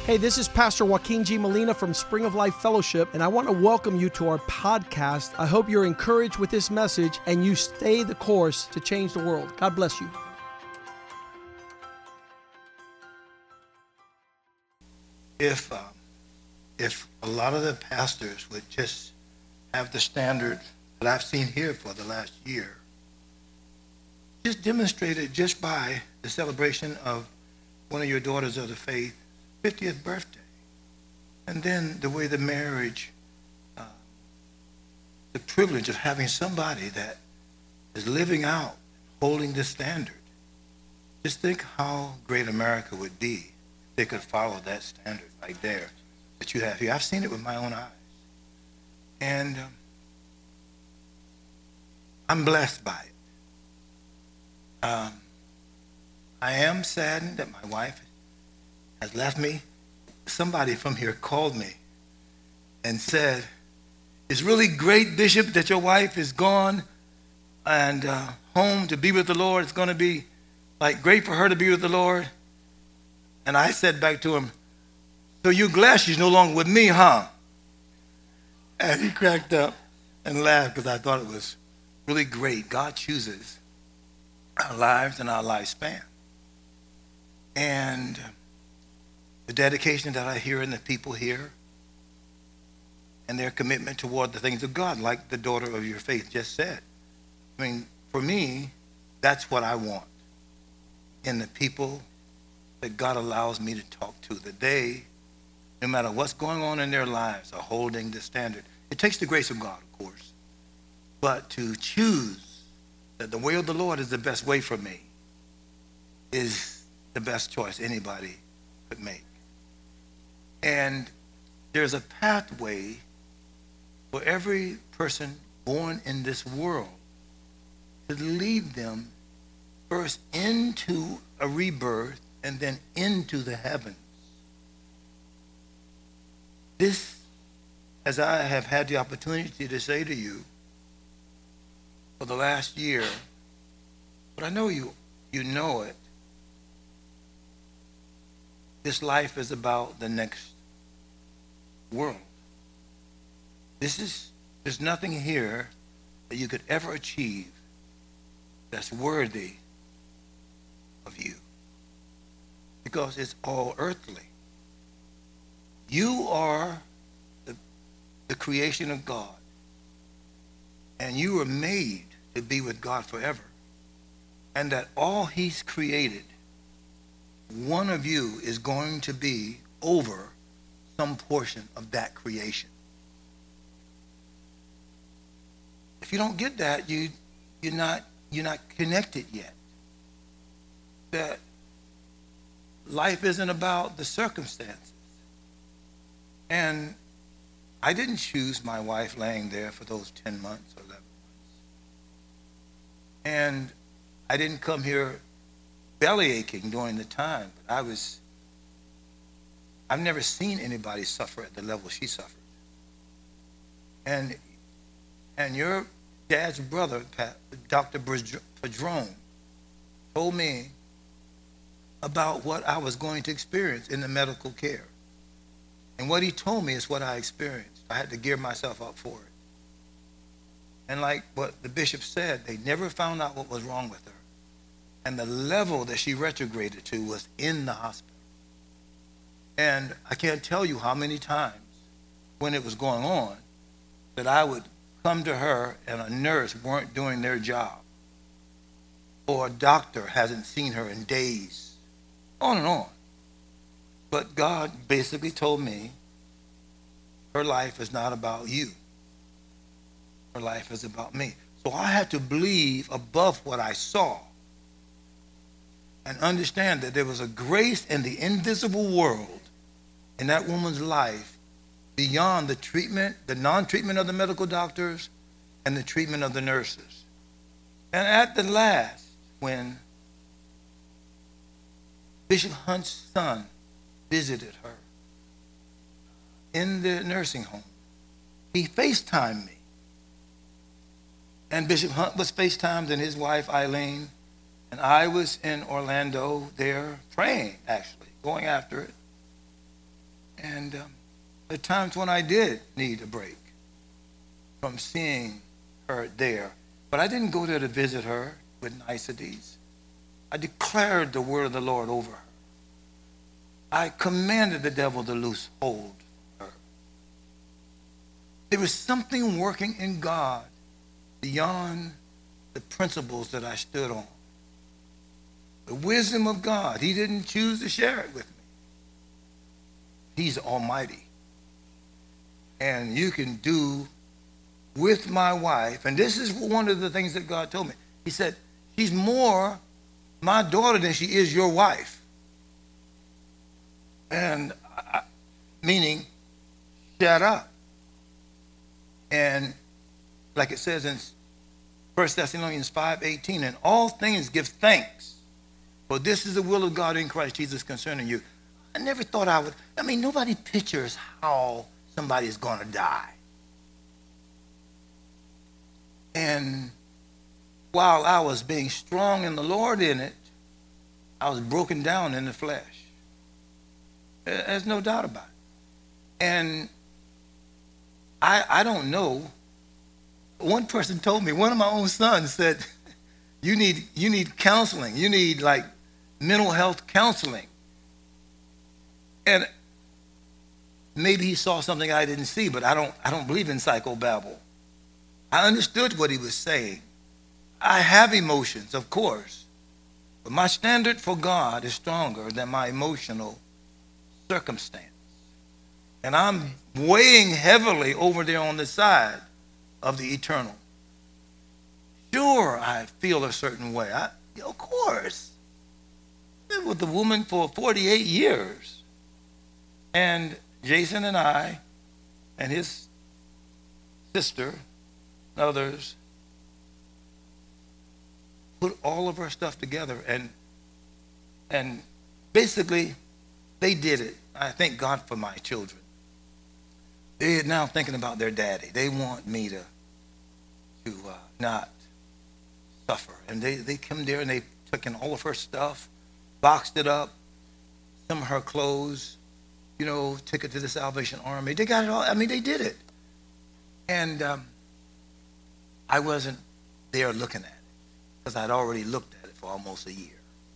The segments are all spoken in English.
Hey, this is Pastor Joaquin G. Molina from Spring of Life Fellowship, and I want to welcome you to our podcast. I hope you're encouraged with this message and you stay the course to change the world. God bless you. If a lot of the pastors would just have the standard that I've seen here for the last year, just demonstrated just by the celebration of one of your daughters of the faith 50th birthday, and then the way the marriage, the privilege of having somebody that is living out, holding the standard. Just think how great America would be if they could follow that standard right there that you have here. I've seen it with my own eyes, and I'm blessed by it. I am saddened that my wife has left me. Somebody from here called me and said, "It's really great, Bishop, that your wife is gone and home to be with the Lord. It's going to be like great for her to be with the Lord." And I said back to him, "So you're glad she's no longer with me, huh?" And he cracked up and laughed because I thought it was really great. God chooses our lives and our lifespan. And the dedication that I hear in the people here and their commitment toward the things of God, like the daughter of your faith just said. I mean, for me, that's what I want in the people that God allows me to talk to, that they, no matter what's going on in their lives, are holding the standard. It takes the grace of God, of course, but to choose that the way of the Lord is the best way for me is the best choice anybody could make. And there's a pathway for every person born in this world to lead them first into a rebirth and then into the heavens. This, as I have had the opportunity to say to you for the last year, but I know you know it, this life is about the next world. There's nothing here that you could ever achieve that's worthy of you, because it's all earthly. You are the creation of God, and you were made to be with God forever, and that all he's created, one of you is going to be over some portion of that creation. If you don't get that, you're not connected yet. That life isn't about the circumstances. And I didn't choose my wife laying there for those 10 months or 11 months. And I didn't come here belly aching during the time, but I've never seen anybody suffer at the level she suffered. And your dad's brother, Dr. Padron, told me about what I was going to experience in the medical care. And what he told me is what I experienced. I had to gear myself up for it. And like what the bishop said, they never found out what was wrong with her. And the level that she retrograded to was in the hospital. And I can't tell you how many times when it was going on that I would come to her and a nurse weren't doing their job, or a doctor hasn't seen her in days, on and on. But God basically told me her life is not about you. Her life is about me. So I had to believe above what I saw and understand that there was a grace in the invisible world in that woman's life beyond the treatment, the non-treatment of the medical doctors and the treatment of the nurses. And at the last, when Bishop Hunt's son visited her in the nursing home, he FaceTimed me. And Bishop Hunt was FaceTimed, and his wife, Eileen, and I was in Orlando there praying, actually, going after it. And there are times when I did need a break from seeing her there. But I didn't go there to visit her with niceties. I declared the word of the Lord over her. I commanded the devil to loose hold of her. There was something working in God beyond the principles that I stood on. The wisdom of God. He didn't choose to share it with me. He's almighty. And you can do with my wife, and this is one of the things that God told me. He said, she's more my daughter than she is your wife. And meaning, shut up. And like it says in 1 Thessalonians 5:18, in all things give thanks, for this is the will of God in Christ Jesus concerning you. I never thought nobody pictures how somebody's going to die. And while I was being strong in the Lord in it, I was broken down in the flesh. There's no doubt about it. And I don't know. One person told me, one of my own sons said, you need counseling. You need like mental health counseling. And maybe he saw something I didn't see, but I don't believe in psychobabble. I understood what he was saying. I have emotions, of course, but my standard for God is stronger than my emotional circumstance. And I'm weighing heavily over there on the side of the eternal. Sure, I feel a certain way. Of course. I lived with the woman for 48 years. And Jason and I and his sister and others put all of our stuff together, and basically they did it. I thank God for my children. They're now thinking about their daddy. They want me to not suffer. And they come there and they took in all of her stuff, boxed it up, some of her clothes, took it to the Salvation Army. They got it all. They did it. And I wasn't there looking at it because I'd already looked at it for almost a year.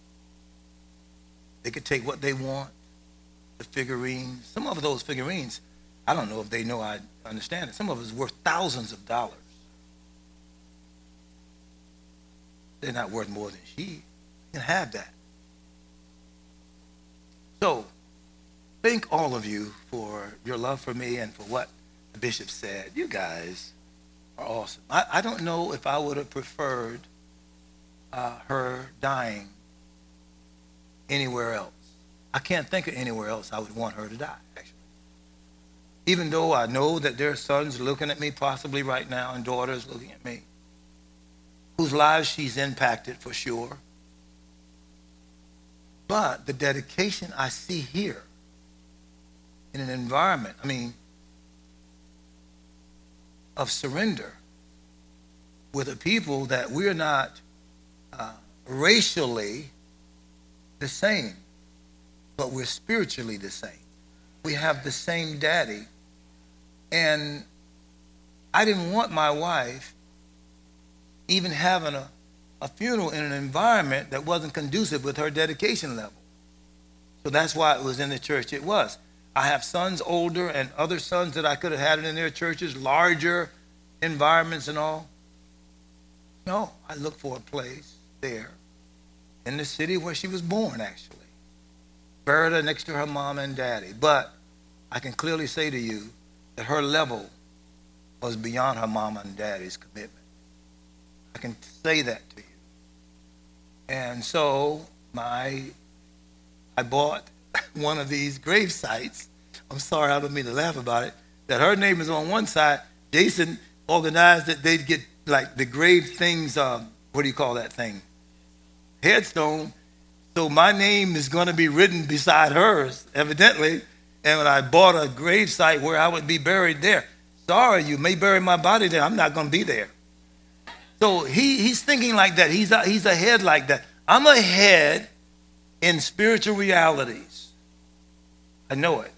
They could take what they want, the figurines. Some of those figurines, I don't know if they know I understand it. Some of it's worth thousands of dollars. They're not worth more than she. You can have that. So, thank all of you for your love for me and for what the bishop said. You guys are awesome. I don't know if I would have preferred her dying anywhere else. I can't think of anywhere else I would want her to die, actually. Even though I know that there are sons looking at me possibly right now and daughters looking at me, whose lives she's impacted for sure. But the dedication I see here in an environment, of surrender with a people that we're not racially the same, but we're spiritually the same. We have the same daddy. And I didn't want my wife even having a funeral in an environment that wasn't conducive with her dedication level. So that's why it was in the church it was. I have sons older and other sons that I could have had in their churches, larger environments and all. No, I looked for a place there in the city where she was born, actually. Buried her next to her mom and daddy. But I can clearly say to you that her level was beyond her mom and daddy's commitment. I can say that to you. And so I bought one of these grave sites. I'm sorry, I don't mean to laugh about it. That her name is on one side. Jason organized that they'd get like the grave things, what do you call that thing? Headstone. So my name is going to be written beside hers, evidently. And when I bought a grave site where I would be buried there, sorry, you may bury my body there. I'm not going to be there. So he's thinking like that. He's ahead like that. I'm ahead in spiritual realities. I know it.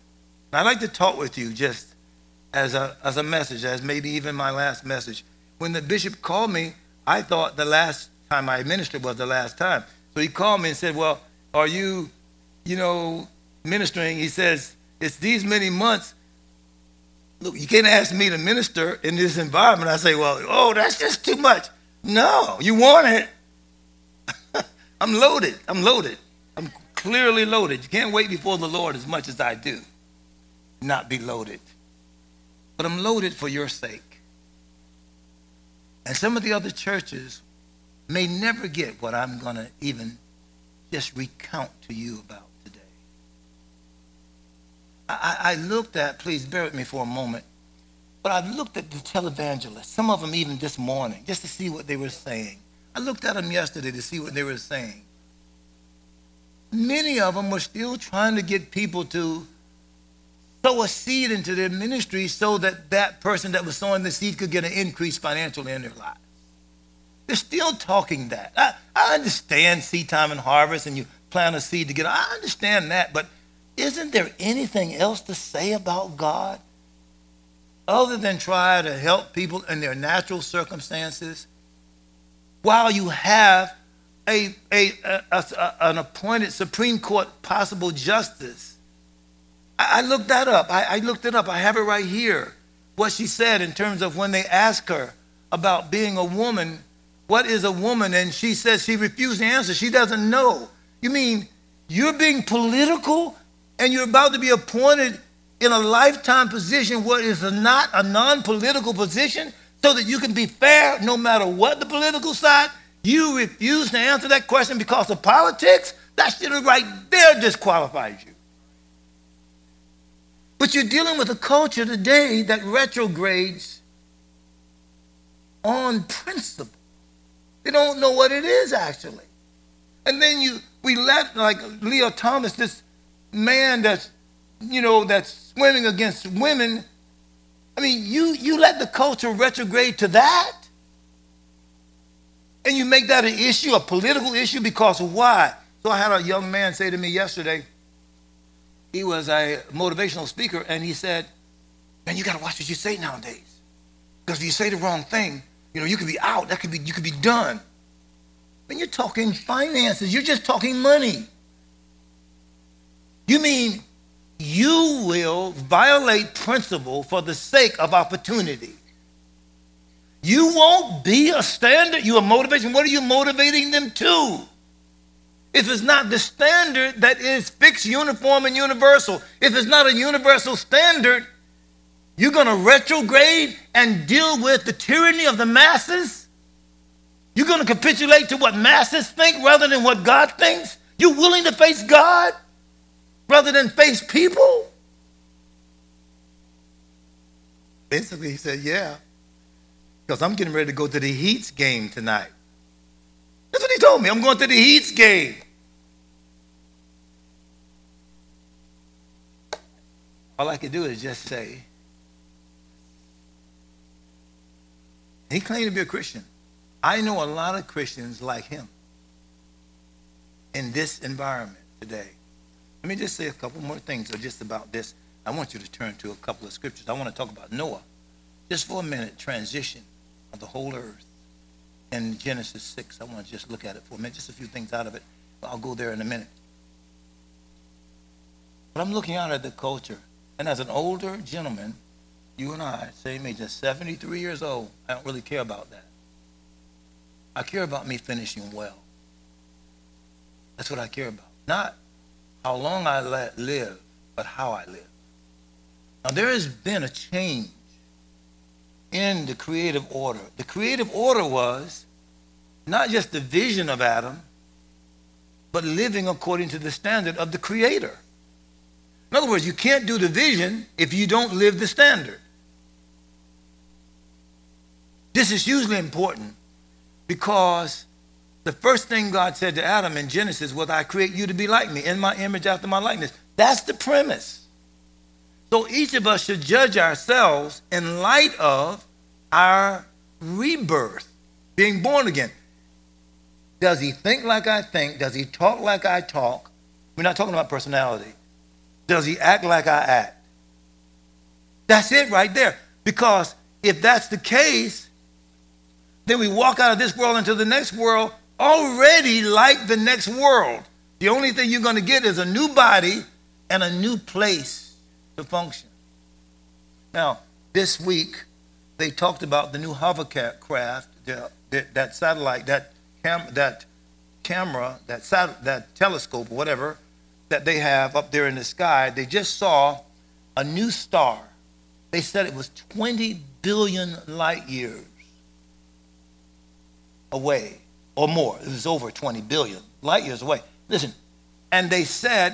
I'd like to talk with you just as a message, as maybe even my last message. When the bishop called me, I thought the last time I ministered was the last time. So he called me and said, well, are you, ministering? He says, it's these many months. Look, you can't ask me to minister in this environment. I say, well, that's just too much. No, you want it. I'm loaded. I'm clearly loaded. You can't wait before the Lord as much as I do. Not be loaded. But I'm loaded for your sake. And some of the other churches may never get what I'm going to even just recount to you about today. I looked at, please bear with me for a moment, but I looked at the televangelists, some of them even this morning, just to see what they were saying. I looked at them yesterday to see what they were saying. Many of them were still trying to get people to sow a seed into their ministry so that that person that was sowing the seed could get an increase financially in their lives. They're still talking that. I understand seed time and harvest, and you plant a seed to get. I understand that, but isn't there anything else to say about God other than try to help people in their natural circumstances while you have an appointed Supreme Court possible justice? I looked that up. I looked it up. I have it right here. What she said in terms of when they asked her about being a woman, what is a woman? And she says she refused to answer. She doesn't know. You mean you're being political and you're about to be appointed in a lifetime position what is not a non-political position so that you can be fair no matter what the political side? You refuse to answer that question because of politics? That shit right there disqualifies you. But you're dealing with a culture today that retrogrades on principle. They don't know what it is actually. And then we let, like Leo Thomas, this man that's swimming against women. I mean, you let the culture retrograde to that? And you make that an issue, a political issue, because of why? So I had a young man say to me yesterday, he was a motivational speaker, and he said, man, you got to watch what you say nowadays. Because if you say the wrong thing, you could be out. You could be done. When you're talking finances, you're just talking money. You mean you will violate principle for the sake of opportunity. You won't be a standard. You are motivation. What are you motivating them to? If it's not the standard that is fixed, uniform, and universal, if it's not a universal standard, you're going to retrograde and deal with the tyranny of the masses? You're going to capitulate to what masses think rather than what God thinks? You're willing to face God rather than face people? Basically, he said, yeah, because I'm getting ready to go to the Heat's game tonight. That's what he told me. I'm going to the Heat's game. All I could do is just say, he claimed to be a Christian. I know a lot of Christians like him in this environment today. Let me just say a couple more things just about this. I want you to turn to a couple of scriptures. I want to talk about Noah. Just for a minute, transition of the whole earth. In Genesis 6, I want to just look at it for a minute, just a few things out of it. I'll go there in a minute. But I'm looking out at the culture. And as an older gentleman, you and I, same age, just 73 years old, I don't really care about that. I care about me finishing well. That's what I care about. Not how long I live, but how I live. Now, there has been a change in the creative order. The creative order was not just the vision of Adam, but living according to the standard of the Creator. In other words, you can't do the vision if you don't live the standard. This is hugely important because the first thing God said to Adam in Genesis was, I create you to be like me, in my image after my likeness. That's the premise. So each of us should judge ourselves in light of our rebirth, being born again. Does he think like I think? Does he talk like I talk? We're not talking about personality. Does he act like I act? That's it right there. Because if that's the case, then we walk out of this world into the next world already like the next world. The only thing you're going to get is a new body and a new place to function. Now, this week, they talked about the new hovercraft, that satellite, that camera, that telescope, or whatever, that they have up there in the sky. They just saw a new star. They said it was 20 billion light years away, or more. It was over 20 billion light years away. Listen, and they said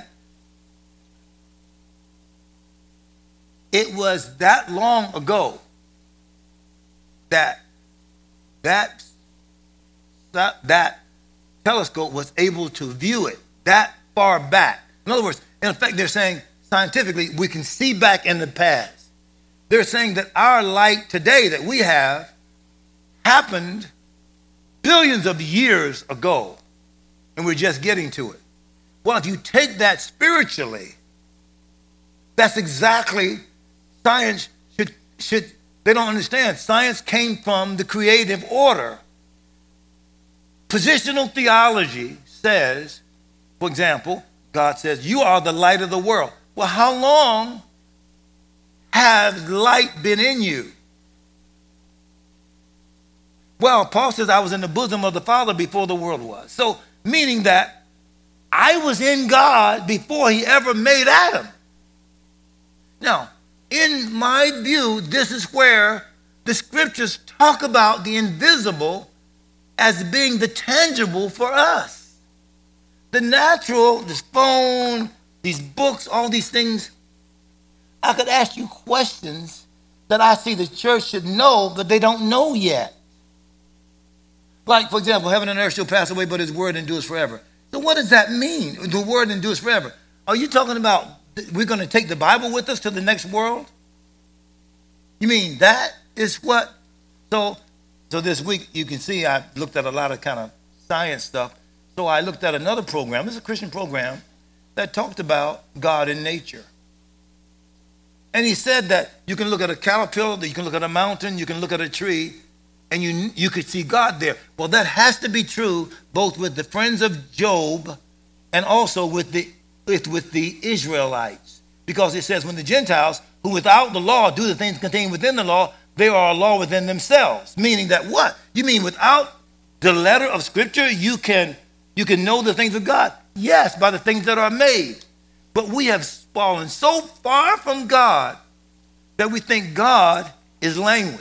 it was that long ago that telescope was able to view it that far back. In other words, in effect, they're saying scientifically we can see back in the past. They're saying that our light today that we have happened billions of years ago, and we're just getting to it. Well, if you take that spiritually, that's exactly science should they don't understand. Science came from the creative order. Positional theology says, for example, God says, you are the light of the world. Well, how long has light been in you? Well, Paul says, I was in the bosom of the Father before the world was. So, meaning that I was in God before he ever made Adam. Now, in my view, this is where the scriptures talk about the invisible as being the tangible for us. The natural, this phone, these books, all these things, I could ask you questions that I see the church should know, but they don't know yet. Like, for example, heaven and earth shall pass away, but his word endures forever. So what does that mean? The word endures forever. Are you talking about we're going to take the Bible with us to the next world? You mean that is what? So this week, you can see I looked at a lot of kind of science stuff. So I looked at another program. It's a Christian program that talked about God in nature. And he said that you can look at a caterpillar, you can look at a mountain, you can look at a tree, and you could see God there. Well, that has to be true both with the friends of Job and also with the Israelites. Because it says when the Gentiles, who without the law do the things contained within the law, they are a law within themselves. Meaning that what? You mean without the letter of Scripture, you can know the things of God? Yes, by the things that are made. But we have fallen so far from God that we think God is language.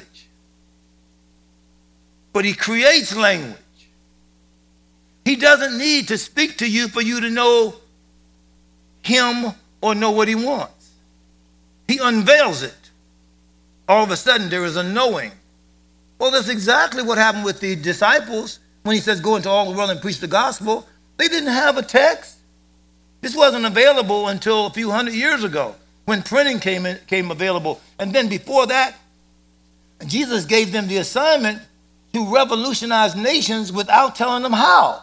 But he creates language. He doesn't need to speak to you for you to know him or know what he wants. He unveils it. All of a sudden, there is a knowing. Well, that's exactly what happened with the disciples when he says, go into all the world and preach the gospel. They didn't have a text. This wasn't available until a few hundred years ago when printing came available. And then before that, Jesus gave them the assignment to revolutionize nations without telling them how.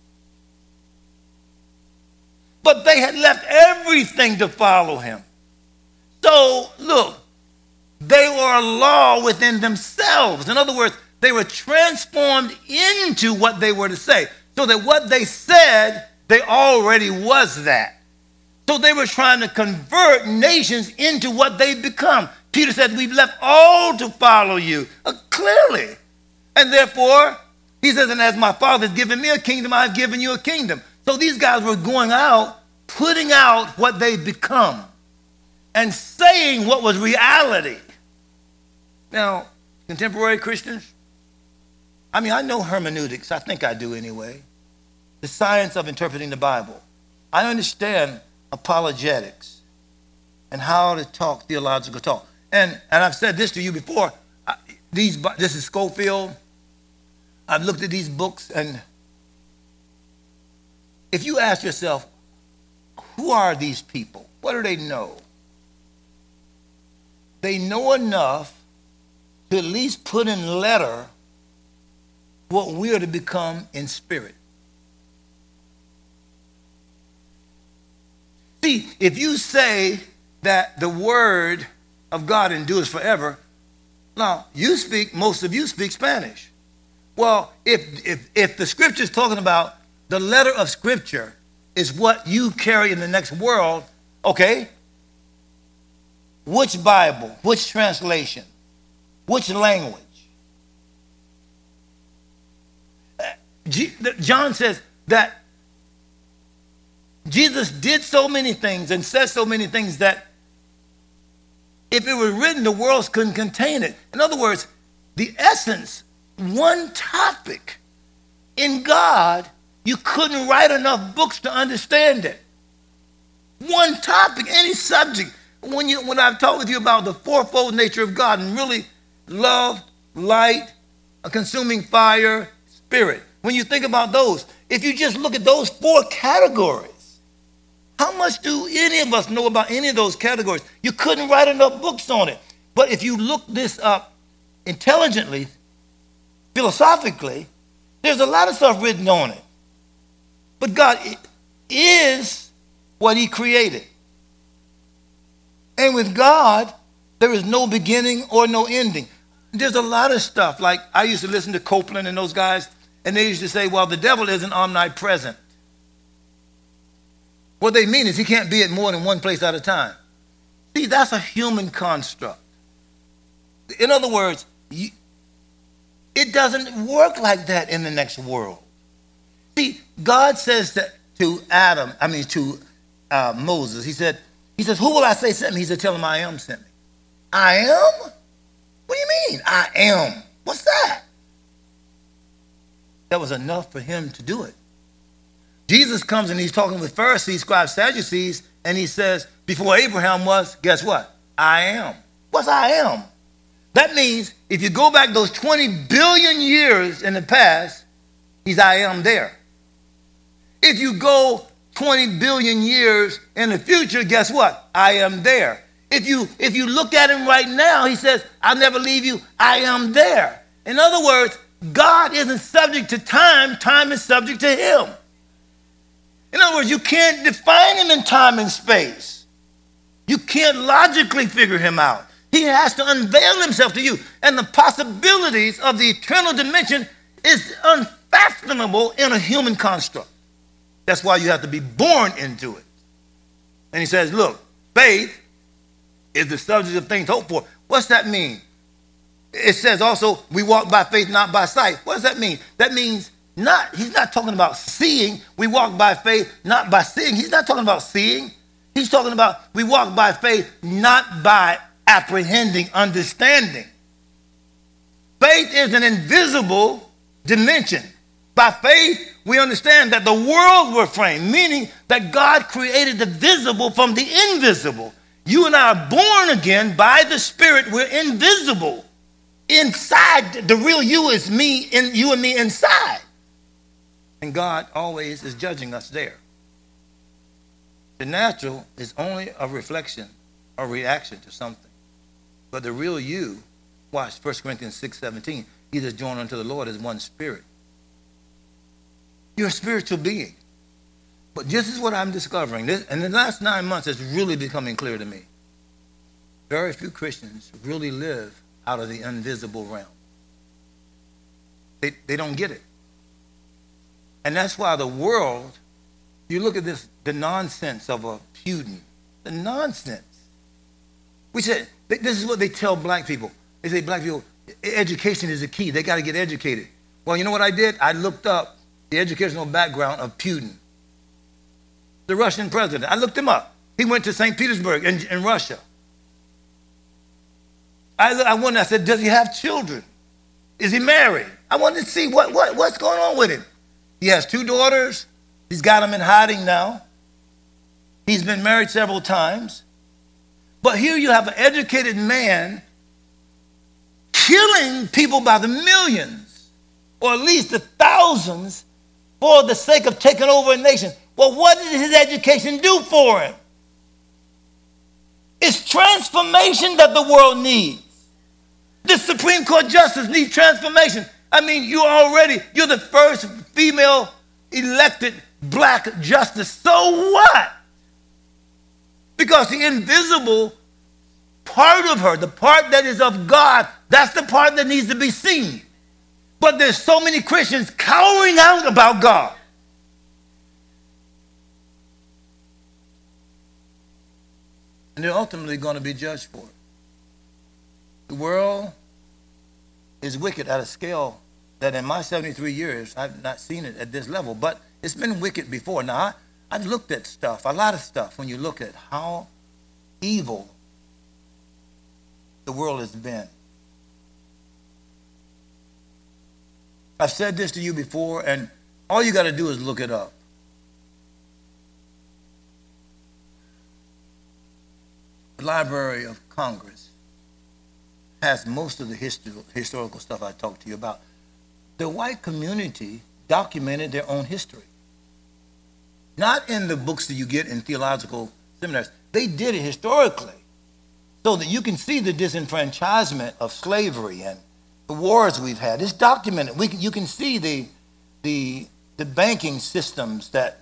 But they had left everything to follow him. So, look, they were a law within themselves. In other words, they were transformed into what they were to say. So that what they said, they already was that. So they were trying to convert nations into what they've become. Peter said, we've left all to follow you. Clearly. And therefore, he says, and as my Father has given me a kingdom, I've given you a kingdom. So these guys were going out, putting out what they've become, and saying what was reality. Now, contemporary Christians, I know hermeneutics. I think I do anyway. The science of interpreting the Bible. I understand apologetics and how to talk theological talk. And I've said this to you before. This is Schofield. I've looked at these books, and if you ask yourself, who are these people? What do they know? They know enough to at least put in letter what we are to become in spirit. See, if you say that the word of God endures forever. Now, most of you speak Spanish. Well, if the scripture is talking about the letter of scripture is what you carry in the next world, okay, which Bible, which translation, which language? John says that Jesus did so many things and said so many things that if it were written, the world couldn't contain it. In other words, the essence, one topic in God, you couldn't write enough books to understand it. One topic, any subject. When I've talked with you about the fourfold nature of God and really love, light, a consuming fire, spirit. When you think about those, if you just look at those four categories, how much do any of us know about any of those categories? You couldn't write enough books on it. But if you look this up intelligently, philosophically, there's a lot of stuff written on it. But God is what he created. And with God, there is no beginning or no ending. There's a lot of stuff. Like I used to listen to Copeland and those guys, and they used to say, well, the devil isn't omnipresent. What they mean is he can't be at more than one place at a time. See, that's a human construct. In other words, it doesn't work like that in the next world. See, God says to Moses, he says, who will I say sent me? He said, tell him I am sent me. I am? What do you mean, I am? What's that? That was enough for him to do it. Jesus comes and he's talking with Pharisees, scribes, Sadducees, and he says, before Abraham was, guess what? I am. What's I am? That means if you go back those 20 billion years in the past, he's I am there. If you go 20 billion years in the future, guess what? I am there. If you look at him right now, he says, I'll never leave you. I am there. In other words, God isn't subject to time. Time is subject to him. In other words, you can't define him in time and space. You can't logically figure him out. He has to unveil himself to you. And the possibilities of the eternal dimension is unfathomable in a human construct. That's why you have to be born into it. And he says, look, faith is the subject of things hoped for. What's that mean? It says also, we walk by faith, not by sight. What does that mean? That means he's not talking about seeing. We walk by faith, not by seeing. He's not talking about seeing. He's talking about we walk by faith, not by apprehending, understanding. Faith is an invisible dimension. By faith, we understand that the world were framed, meaning that God created the visible from the invisible. You and I are born again by the Spirit. We're invisible. Inside, the real you is me, and you and me inside. And God always is judging us there. The natural is only a reflection or reaction to something. But the real you, watch 1 Corinthians 6:17, he that's joined unto the Lord is one spirit. You're a spiritual being. But this is what I'm discovering. In the last 9 months, it's really becoming clear to me. Very few Christians really live out of the invisible realm. They don't get it. And that's why the world, you look at this, the nonsense of a Putin, the nonsense. We said, this is what they tell black people. They say black people, education is the key. They got to get educated. Well, you know what I did? I looked up the educational background of Putin, the Russian president. I looked him up. He went to St. Petersburg in Russia. I wondered, I said, does he have children? Is he married? I wanted to see what's going on with him. He has 2 daughters. He's got them in hiding now. He's been married several times. But here you have an educated man killing people by the millions, or at least the thousands, for the sake of taking over a nation. Well, what did his education do for him? It's transformation that the world needs. The Supreme Court justice needs transformation. I mean, you're the first female elected black justice. So what? Because the invisible part of her, the part that is of God, that's the part that needs to be seen. But there's so many Christians cowering out about God. And they're ultimately going to be judged for it. The world is wicked at a scale that in my 73 years, I've not seen it at this level. But it's been wicked before. Now, I've looked at stuff, a lot of stuff, when you look at how evil the world has been. I've said this to you before, and all you got to do is look it up. The Library of Congress has most of the historical stuff I talked to you about. The white community documented their own history. Not in the books that you get in theological seminaries. They did it historically so that you can see the disenfranchisement of slavery and the wars we've had. It's documented. You can see the banking systems that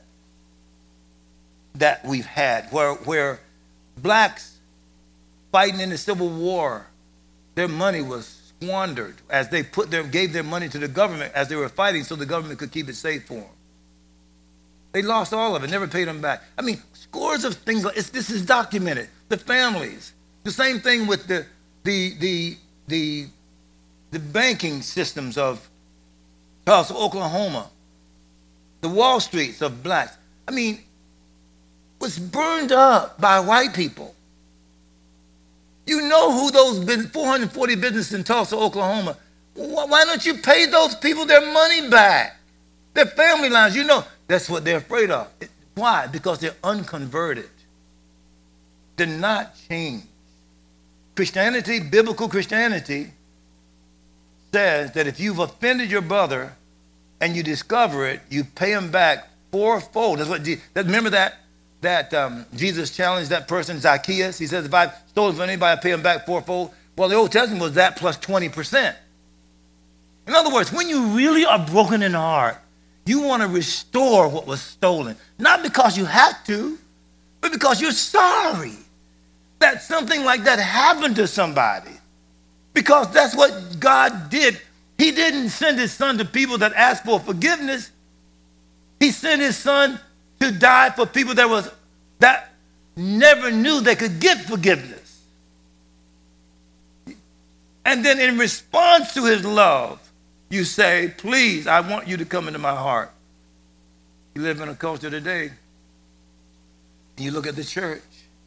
we've had, where blacks fighting in the Civil War, their money was squandered as they gave their money to the government as they were fighting so the government could keep it safe for them. They lost all of it, never paid them back. I mean, scores of things like this is documented. The families, the same thing with the banking systems of Tulsa, Oklahoma, the Wall Streets of blacks. I mean, was burned up by white people. You know who those 440 businesses in Tulsa, Oklahoma, why don't you pay those people their money back? Their family lines, you know, that's what they're afraid of. Why? Because they're unconverted. They're not changed. Christianity, biblical Christianity, says that if you've offended your brother and you discover it, you pay him back fourfold. That's what. Remember that Jesus challenged that person, Zacchaeus. He says, if I've stolen from anybody, I pay him back fourfold. Well, the Old Testament was that plus 20%. In other words, when you really are broken in heart, you want to restore what was stolen. Not because you have to, but because you're sorry that something like that happened to somebody. Because that's what God did. He didn't send his son to people that asked for forgiveness. He sent his son to die for people that never knew they could get forgiveness. And then in response to his love, you say, please, I want you to come into my heart. You live in a culture today, and you look at the church.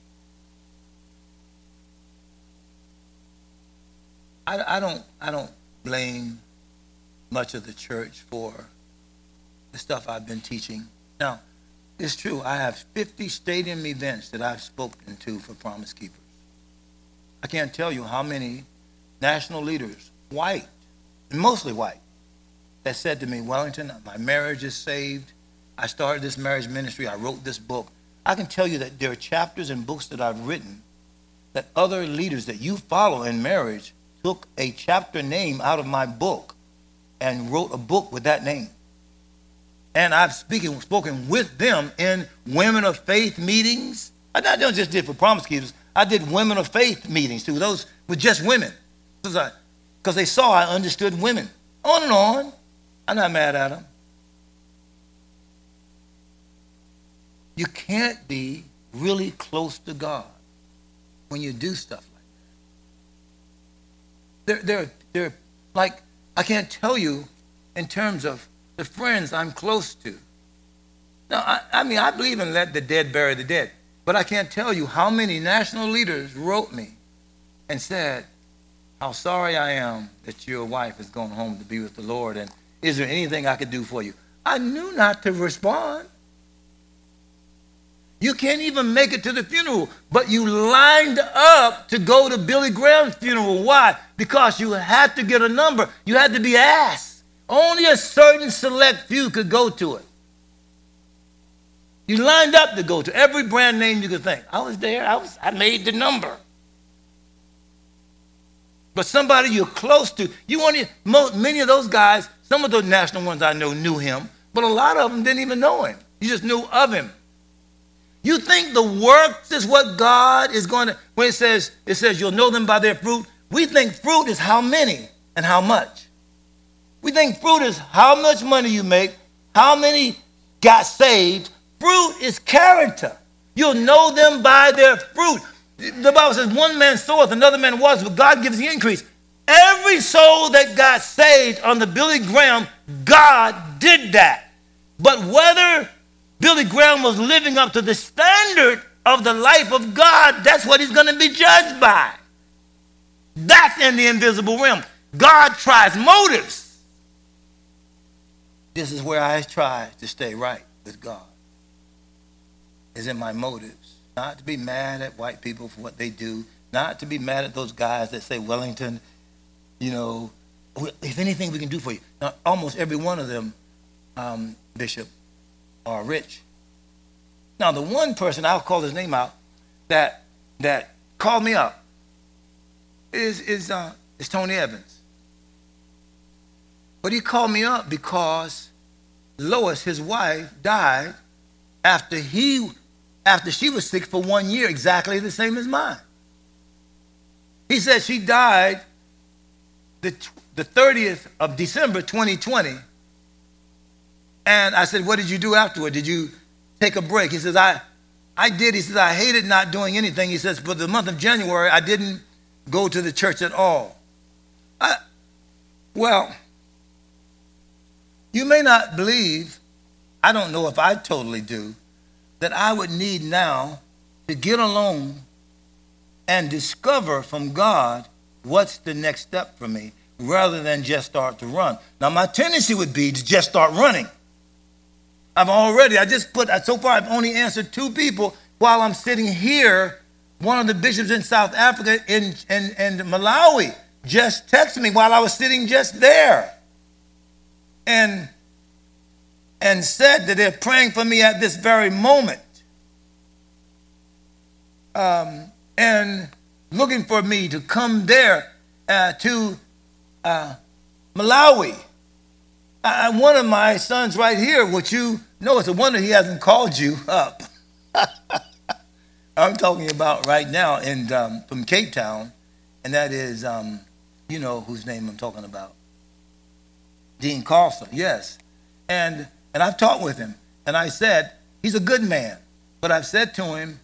I don't blame much of the church for the stuff I've been teaching. Now, it's true, I have 50 stadium events that I've spoken to for Promise Keepers. I can't tell you how many national leaders, white, and mostly white, that said to me, Wellington, my marriage is saved. I started this marriage ministry. I wrote this book. I can tell you that there are chapters and books that I've written that other leaders that you follow in marriage took a chapter name out of my book and wrote a book with that name. And I've spoken with them in Women of Faith meetings. I don't just did for Promise Keepers. I did Women of Faith meetings too. Those with just women. Because they saw I understood women. On and on. I'm not mad at them. You can't be really close to God when you do stuff like that. They're like, I can't tell you in terms of the friends I'm close to. Now, I mean, I believe in let the dead bury the dead. But I can't tell you how many national leaders wrote me and said, how sorry I am that your wife is going home to be with the Lord, and is there anything I could do for you? I knew not to respond. You can't even make it to the funeral, but you lined up to go to Billy Graham's funeral. Why? Because you had to get a number. You had to be asked. Only a certain select few could go to it. You lined up to go to every brand name you could think. I was there. I made the number. But somebody you're close to, many of those guys, some of those national ones I know knew him, but a lot of them didn't even know him. You just knew of him. You think the works is what God is going to, when it says you'll know them by their fruit, we think fruit is how many and how much. We think fruit is how much money you make, how many got saved. Fruit is character. You'll know them by their fruit. The Bible says one man soweth, another man waters, but God gives the increase. Every soul that got saved under Billy Graham, God did that. But whether Billy Graham was living up to the standard of the life of God, that's what he's going to be judged by. That's in the invisible realm. God tries motives. This is where I try to stay right with God, is in my motives. Not to be mad at white people for what they do, not to be mad at those guys that say, Wellington, if anything we can do for you. Now, almost every one of them, Bishop, are rich. Now, the one person, I'll call his name out, that called me up is Tony Evans. But he called me up because Lois, his wife, died after she was sick for 1 year, exactly the same as mine. He said she died the 30th of December, 2020. And I said, what did you do afterward? Did you take a break? He says, I did. He says, I hated not doing anything. He says, for the month of January, I didn't go to the church at all. Well, you may not believe, I don't know if I totally do, that I would need now to get alone and discover from God what's the next step for me rather than just start to run. Now, my tendency would be to just start running. So far I've only answered 2 people while I'm sitting here. One of the bishops in South Africa in Malawi just texted me while I was sitting just there and said that they're praying for me at this very moment and looking for me to come there to Malawi. One of my sons right here, which you know, it's a wonder he hasn't called you up. I'm talking about right now from Cape Town, and that is, you know whose name I'm talking about. Dean Carlson, yes. And I've talked with him, and I said, he's a good man, but I've said to him,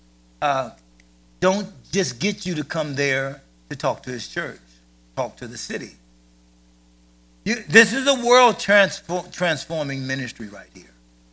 don't just get you to come there to talk to his church. Talk to the city. This is a world transforming ministry right here.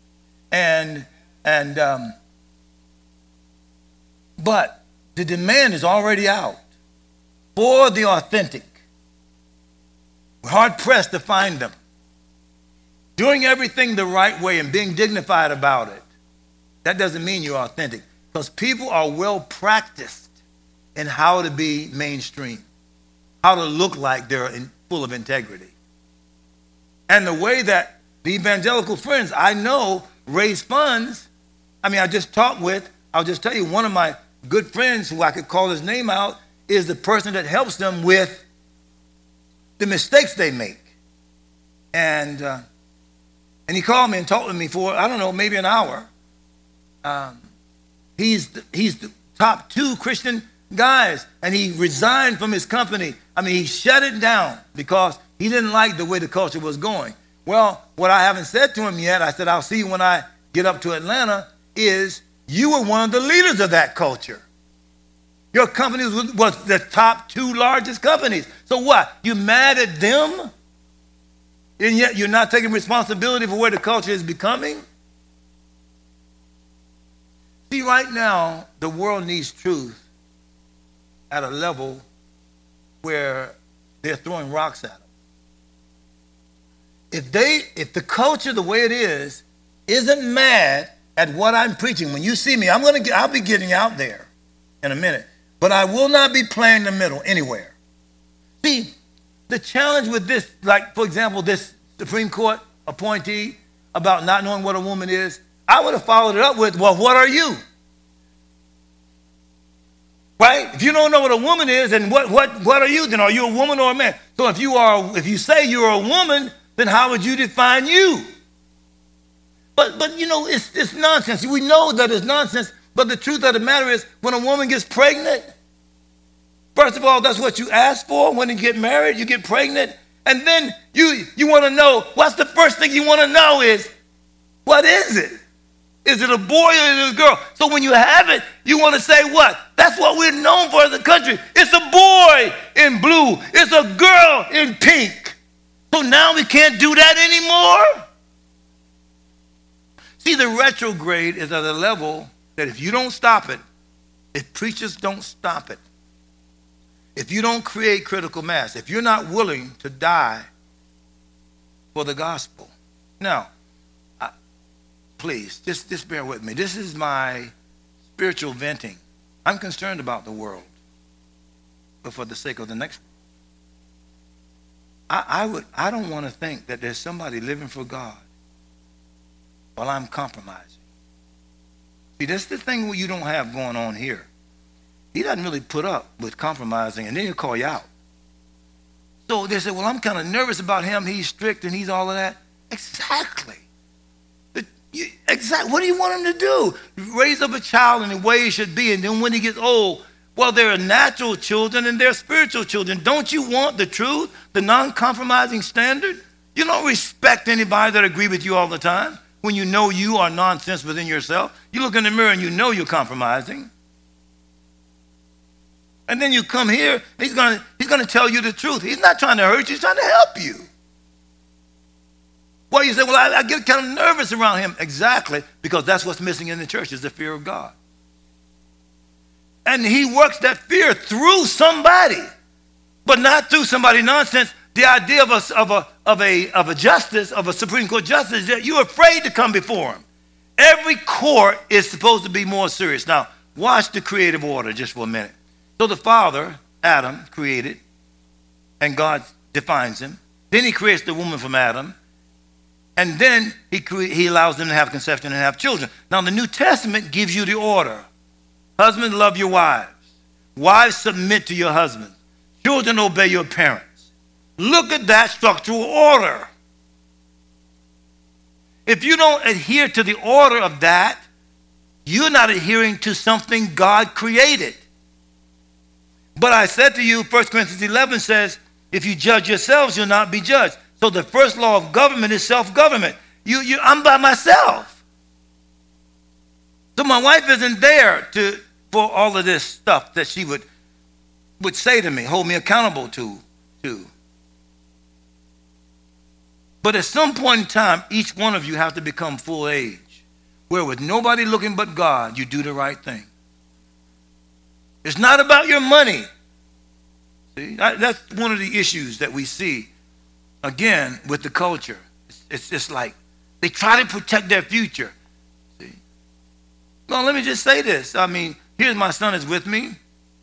But the demand is already out for the authentic. We're hard pressed to find them. Doing everything the right way and being dignified about it, that doesn't mean you're authentic. Because people are well practiced in how to be mainstream, how to look like they're full of integrity. And the way that the evangelical friends I know raise funds, I'll just tell you, one of my good friends who I could call his name out is the person that helps them with the mistakes they make. And he called me and talked with me for, I don't know, maybe an hour. He's the top 2 Christian guys, and he resigned from his company. He shut it down because he didn't like the way the culture was going. Well, what I haven't said to him yet, I said, I'll see you when I get up to Atlanta, is you were one of the leaders of that culture. Your company was the top 2 largest companies. So what? You mad at them? And yet you're not taking responsibility for where the culture is becoming? See, right now, the world needs truth at a level where they're throwing rocks at them. If the culture, the way it is, isn't mad at what I'm preaching, when you see me, I'll be getting out there in a minute, but I will not be playing the middle anywhere. See, the challenge with this, like, for example, this Supreme Court appointee about not knowing what a woman is, I would have followed it up with, well, what are you? Right? If you don't know what a woman is, then what are you? Then are you a woman or a man? So if you say you're a woman, then how would you define you? But you know, it's nonsense. We know that it's nonsense, but the truth of the matter is when a woman gets pregnant, first of all, that's what you ask for. When you get married, you get pregnant. And then you want to know, what's the first thing you want to know is, what is it? Is it a boy or is it a girl? So when you have it, you want to say what? That's what we're known for as a country. It's a boy in blue. It's a girl in pink. So now we can't do that anymore? See, the retrograde is at a level that if you don't stop it, if preachers don't stop it, if you don't create critical mass, if you're not willing to die for the gospel. Now, please, just bear with me. This is my spiritual venting. I'm concerned about the world, but for the sake of the next one. I don't want to think that there's somebody living for God while I'm compromising. See, that's the thing you don't have going on here. He doesn't really put up with compromising, and then he'll call you out. So they say, well, I'm kind of nervous about him. He's strict and he's all of that. Exactly. Exactly. What do you want him to do? Raise up a child in the way he should be, and then when he gets old, well, there are natural children and there are spiritual children. Don't you want the truth, the non-compromising standard? You don't respect anybody that agree with you all the time when you know you are nonsense within yourself. You look in the mirror and you know you're compromising. And then you come here, he's gonna tell you the truth. He's not trying to hurt you, he's trying to help you. Well, you say, well, I get kind of nervous around him. Exactly, because that's what's missing in the church is the fear of God. And he works that fear through somebody, but not through somebody nonsense. The idea of a justice, of a Supreme Court justice, is that you're afraid to come before him. Every court is supposed to be more serious. Now, watch the creative order just for a minute. So the father, Adam, created, and God defines him. Then he creates the woman from Adam. And then he allows them to have conception and have children. Now, the New Testament gives you the order. Husbands, love your wives. Wives, submit to your husbands. Children, obey your parents. Look at that structural order. If you don't adhere to the order of that, you're not adhering to something God created. But I said to you, 1 Corinthians 11 says, if you judge yourselves, you'll not be judged. So the first law of government is self-government. I'm by myself. So my wife isn't there for all of this stuff that she would say to me, hold me accountable to. But at some point in time, each one of you have to become full age, where with nobody looking but God, you do the right thing. It's not about your money. See, that's one of the issues that we see, again, with the culture. It's just like they try to protect their future. See? Well, let me just say this. I mean, here's my son is with me.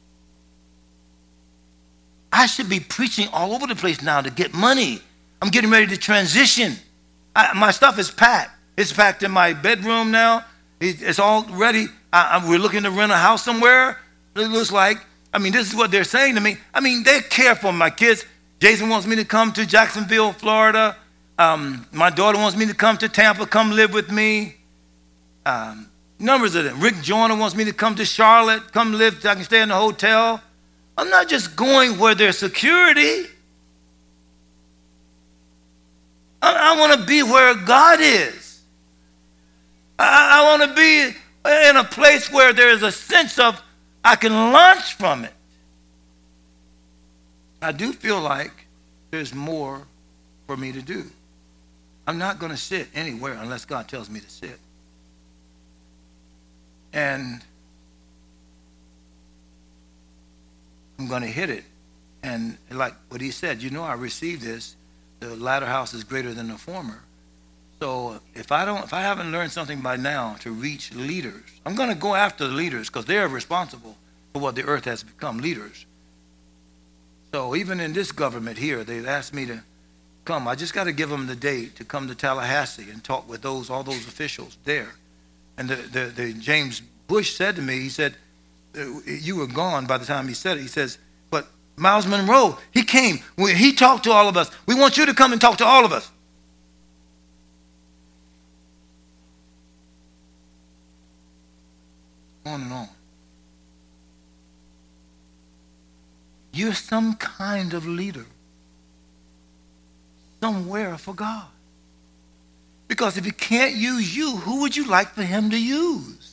I should be preaching all over the place now to get money. I'm getting ready to transition. My stuff is packed. It's packed in my bedroom now. It's all ready. We're looking to rent a house somewhere. It looks like, this is what they're saying to me. They care for my kids. Jason wants me to come to Jacksonville, Florida. My daughter wants me to come to Tampa, come live with me. Numbers of them. Rick Joyner wants me to come to Charlotte, come live, so I can stay in the hotel. I'm not just going where there's security. I want to be where God is. I want to be in a place where there is a sense of I can launch from it. I do feel like there's more for me to do. I'm not going to sit anywhere unless God tells me to sit. And I'm going to hit it. And like what he said, I received this. The latter house is greater than the former. So if I haven't learned something by now to reach leaders, I'm going to go after the leaders because they're responsible for what the earth has become, leaders. So even in this government here, they've asked me to come. I just got to give them the date to come to Tallahassee and talk with all those officials there. And the James Bush said to me, he said, you were gone by the time he said it. He says, but Miles Monroe, he came. He talked to all of us. We want you to come and talk to all of us. On and on. You're some kind of leader somewhere for God. Because if he can't use you, who would you like for him to use?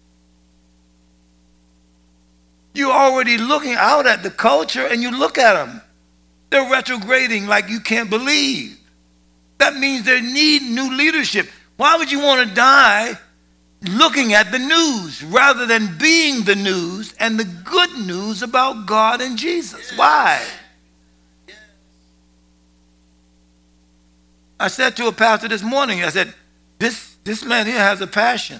You're already looking out at the culture and you look at them. They're retrograding like you can't believe. That means they need new leadership. Why would you want to die looking at the news rather than being the news and the good news about God and Jesus? Why? I said to a pastor this morning, I said, this man here has a passion.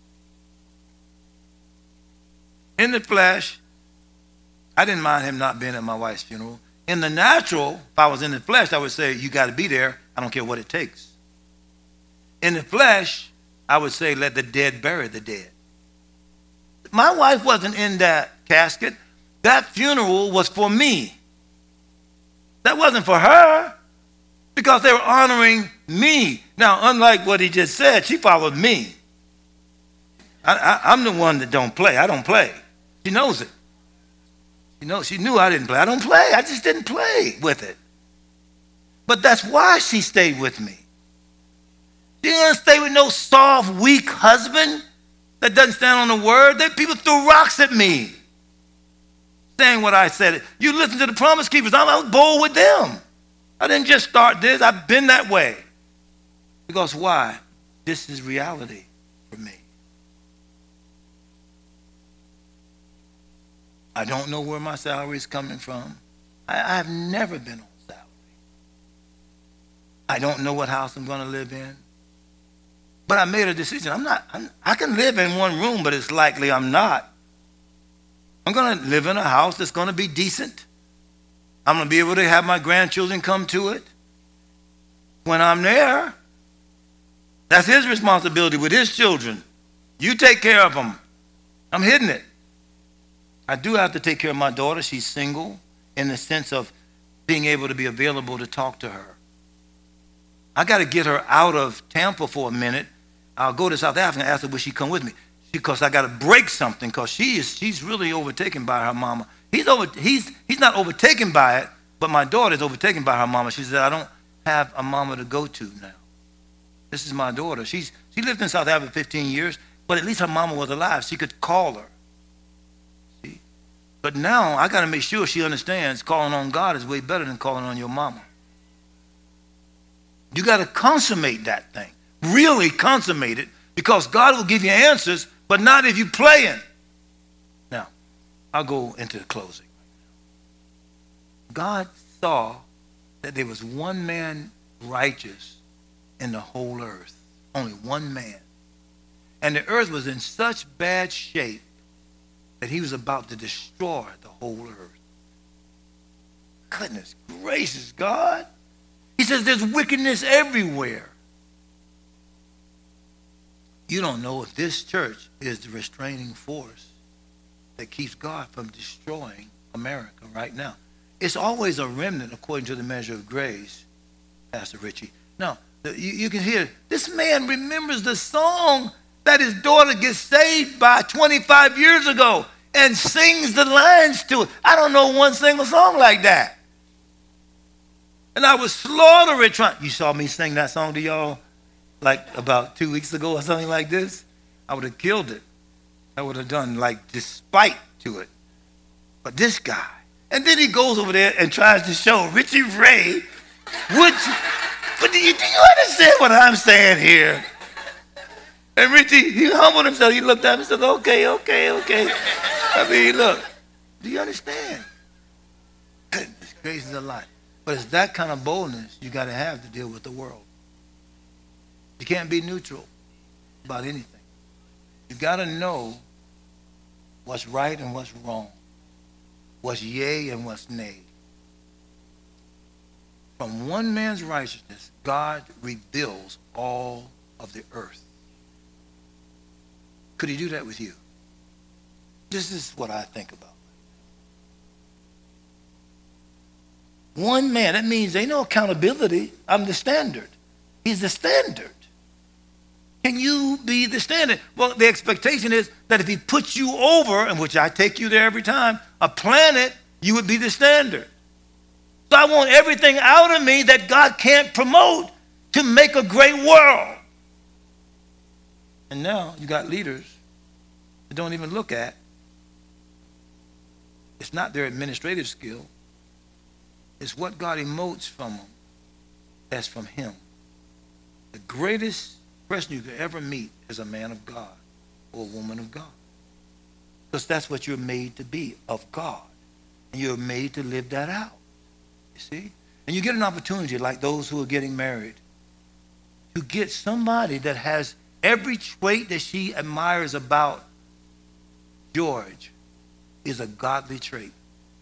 In the flesh, I didn't mind him not being at my wife's funeral. In the natural, if I was in the flesh, I would say, you got to be there. I don't care what it takes. In the flesh, I would say, let the dead bury the dead. My wife wasn't in that casket. That funeral was for me. That wasn't for her, because they were honoring me. Now, unlike what he just said, she followed me. I'm the one that don't play. I don't play. She knows it. She knew I didn't play. I don't play. I just didn't play with it. But that's why she stayed with me. She didn't stay with no soft, weak husband that doesn't stand on the word. People threw rocks at me saying what I said. You listen to the Promise Keepers. I was bold with them. I didn't just start this. I've been that way. Because why? This is reality for me. I don't know where my salary is coming from. I've never been on salary. I don't know what house I'm going to live in. But I made a decision. I can live in one room, but it's likely I'm not. I'm going to live in a house that's going to be decent. I'm going to be able to have my grandchildren come to it when I'm there. That's his responsibility with his children. You take care of them. I'm hitting it. I do have to take care of my daughter. She's single in the sense of being able to be available to talk to her. I got to get her out of Tampa for a minute. I'll go to South Africa and ask her, will she come with me? Because I got to break something, because she's really overtaken by her mama. He's not overtaken by it, but my daughter's overtaken by her mama. She said, I don't have a mama to go to now. This is my daughter. She lived in South Africa 15 years, but at least her mama was alive. She could call her. See? But now I got to make sure she understands calling on God is way better than calling on your mama. You got to consummate that thing. Really consummate it, because God will give you answers, but not if you're playing. Now, I'll go into the closing. God saw that there was one man righteous in the whole earth. Only one man. And the earth was in such bad shape that he was about to destroy the whole earth. Goodness gracious, God. He says there's wickedness everywhere. You don't know if this church is the restraining force that keeps God from destroying America right now. It's always a remnant according to the measure of grace, Pastor Richie. Now, you can hear, this man remembers the song that his daughter gets saved by 25 years ago and sings the lines to it. I don't know one single song like that. And I was slaughtering trying. You saw me sing that song to y'all like about 2 weeks ago or something like this. I would have killed it. I would have done like despite to it. But this guy, and then he goes over there and tries to show Richie Ray, but do you understand what I'm saying here? And Richie, he humbled himself. He looked at me and said, okay. I mean, look, do you understand? Goodness gracious alive. But it's that kind of boldness you got to have to deal with the world. You can't be neutral about anything. You got to know what's right and what's wrong, what's yea and what's nay. From one man's righteousness, God rebuilds all of the earth. Could he do that with you? This is what I think about. One man, that means ain't no accountability. I'm the standard. He's the standard. Can you be the standard? Well, the expectation is that if he puts you over, and which I take you there every time, a planet, you would be the standard. So I want everything out of me that God can't promote to make a great world. And now you got leaders that don't even look at. It's not their administrative skill. It's what God emotes from them. That's from him. The greatest person you could ever meet is a man of God or a woman of God. Because that's what you're made to be, of God. And you're made to live that out. You see? And you get an opportunity, like those who are getting married, to get somebody that has every trait that she admires about George is a godly trait.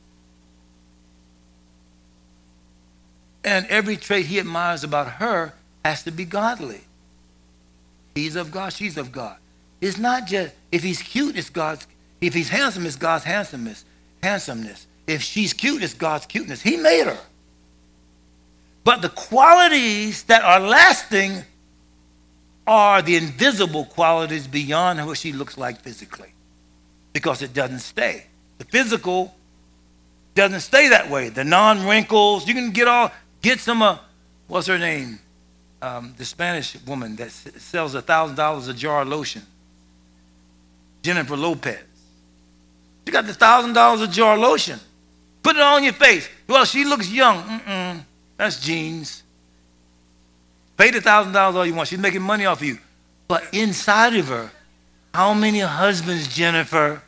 And every trait he admires about her has to be godly. He's of God, she's of God. It's not just, if he's cute, it's God's, if he's handsome, it's God's handsomeness. If she's cute, it's God's cuteness. He made her. But the qualities that are lasting are the invisible qualities beyond what she looks like physically, because it doesn't stay. The physical doesn't stay that way. The non-wrinkles, you can get some, what's her name? The Spanish woman that sells $1,000 a jar of lotion. Jennifer Lopez. She got the $1,000 a jar of lotion. Put it on your face. Well, she looks young. That's jeans. Pay the $1,000 all you want. She's making money off of you. But inside of her, how many husbands, Jennifer?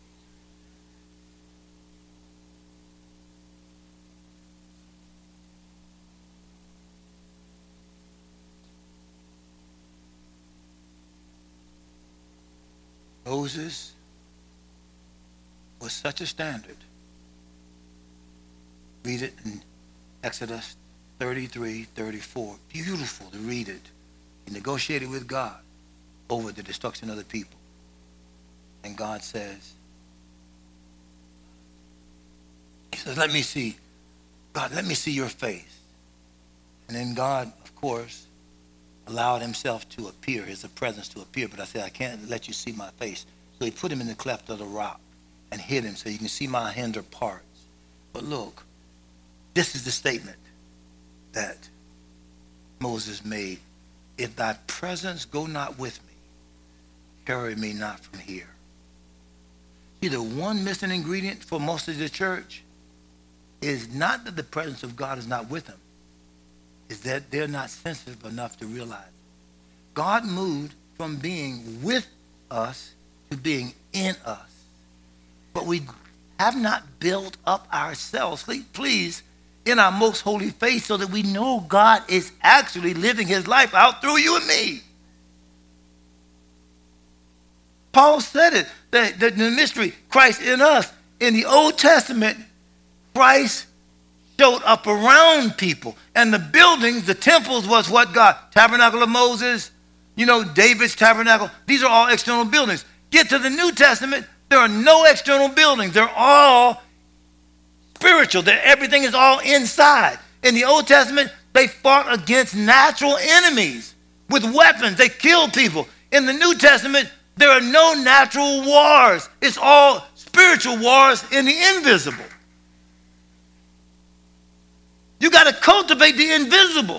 Moses was such a standard. Read it in Exodus 33:34. Beautiful to read it. He negotiated with God over the destruction of the people. And God says, he says, let me see. God, let me see your face. And then God, of course, allowed himself to appear, his presence to appear. But I said, I can't let you see my face. So he put him in the cleft of the rock and hid him so you can see my hinder parts. But look, this is the statement that Moses made. If thy presence go not with me, carry me not from here. See, the one missing ingredient for most of the church is not that the presence of God is not with them. Is that they're not sensitive enough to realize. God moved from being with us to being in us. But we have not built up ourselves, please, in our most holy faith so that we know God is actually living his life out through you and me. Paul said it, that the mystery, Christ in us. In the Old Testament, Christ showed up around people. And the buildings, the temples was what God? Tabernacle of Moses, David's tabernacle. These are all external buildings. Get to the New Testament, there are no external buildings. They're all spiritual. Everything is all inside. In the Old Testament, they fought against natural enemies with weapons. They killed people. In the New Testament, there are no natural wars. It's all spiritual wars in the invisible. You got to cultivate the invisible.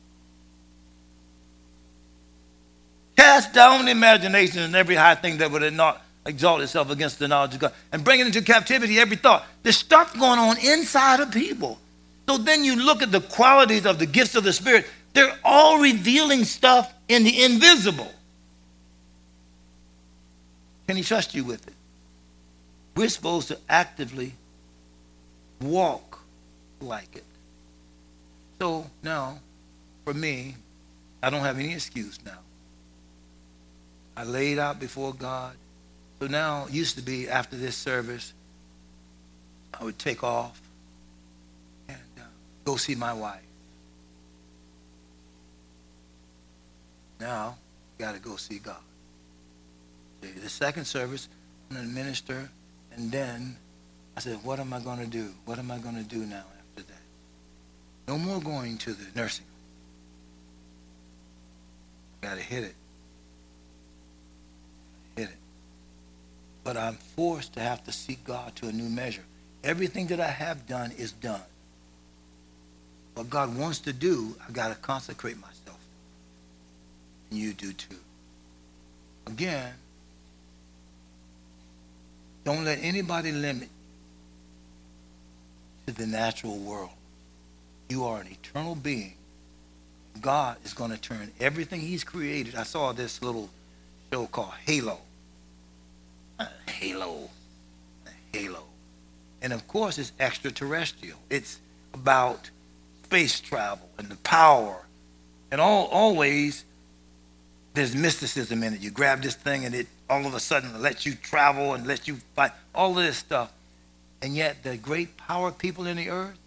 Cast down the imagination and every high thing that would not exalt itself against the knowledge of God. And bring it into captivity every thought. There's stuff going on inside of people. So then you look at the qualities of the gifts of the Spirit. They're all revealing stuff in the invisible. Can he trust you with it? We're supposed to actively walk like it. So now, for me, I don't have any excuse now. I laid out before God. So now, it used to be after this service, I would take off and go see my wife. Now, got to go see God. The second service, I'm going to minister, and then I said, what am I going to do? What am I going to do now after that? No more going to the nursing home. Got to hit it. but I'm forced to have to seek God to a new measure. Everything that I have done is done. What God wants to do, I got to consecrate myself. And you do too. Again, don't let anybody limit you to the natural world. You are an eternal being. God is going to turn everything he's created. I saw this little show called Halo. Halo. And of course it's extraterrestrial. It's about space travel and the power. And always there's mysticism in it. You grab this thing and it all of a sudden lets you travel and lets you fight. All of this stuff. And yet the great power people in the earth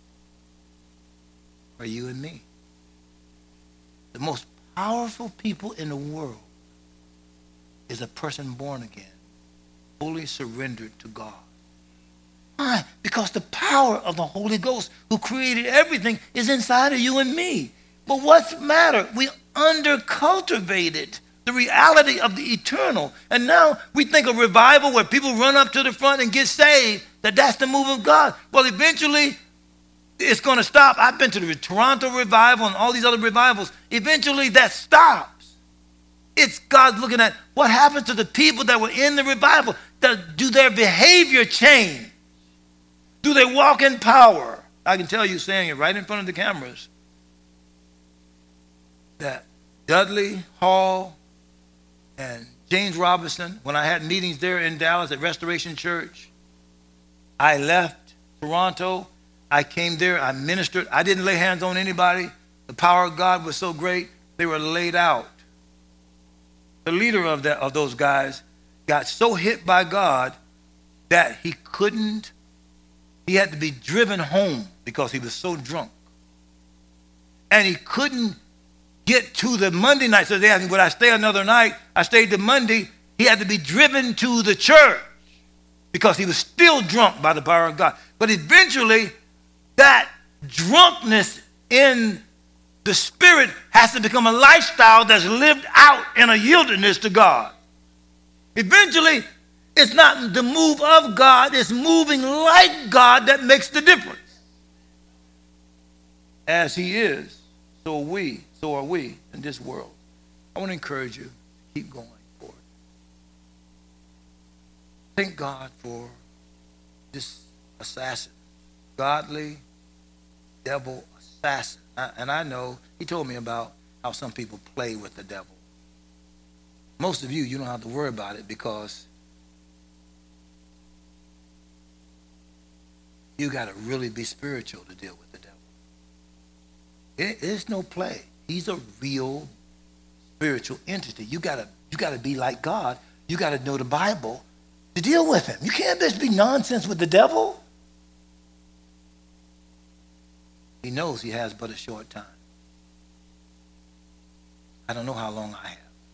are you and me. The most powerful people in the world is a person born again, fully surrendered to God. Why? Because the power of the Holy Ghost who created everything is inside of you and me. But what's the matter? We undercultivated the reality of the eternal. And now we think of revival where people run up to the front and get saved, that's the move of God. Well, eventually it's going to stop. I've been to the Toronto revival and all these other revivals. Eventually that stops. It's God looking at what happened to the people that were in the revival. Do their behavior change? Do they walk in power? I can tell you, saying it right in front of the cameras, that Dudley Hall and James Robinson, when I had meetings there in Dallas at Restoration Church, I left Toronto. I came there. I ministered. I didn't lay hands on anybody. The power of God was so great, they were laid out. The leader of those guys got so hit by God that he had to be driven home because he was so drunk. And he couldn't get to the Monday night. So they asked me, would I stay another night? I stayed the Monday. He had to be driven to the church because he was still drunk by the power of God. But eventually, that drunkenness in the spirit has to become a lifestyle that's lived out in a yieldedness to God. Eventually, it's not the move of God, it's moving like God that makes the difference. As he is, so are we in this world. I want to encourage you to keep going forward. Thank God for this assassin, godly devil assassin. And I know he told me about how some people play with the devil. Most of you don't have to worry about it because you got to really be spiritual to deal with the devil. It's no play. He's a real spiritual entity. You got to be like God. You got to know the Bible to deal with him. You can't just be nonsense with the devil. He knows he has but a short time. I don't know how long I have.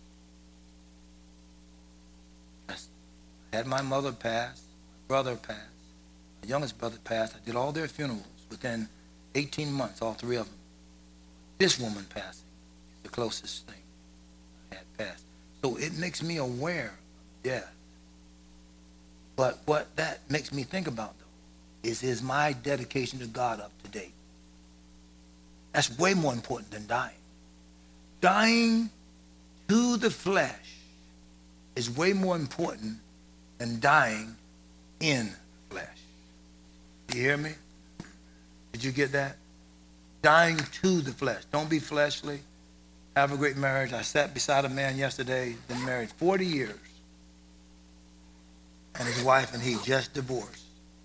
I had my mother pass, my brother passed, my youngest brother passed. I did all their funerals within 18 months, all three of them. This woman passing is the closest thing I had passed. So it makes me aware of death. But what that makes me think about, though, is my dedication to God up to date? That's way more important than dying. Dying to the flesh is way more important than dying in the flesh. You hear me? Did you get that? Dying to the flesh. Don't be fleshly. Have a great marriage. I sat beside a man yesterday, been married 40 years. And his wife and he just divorced.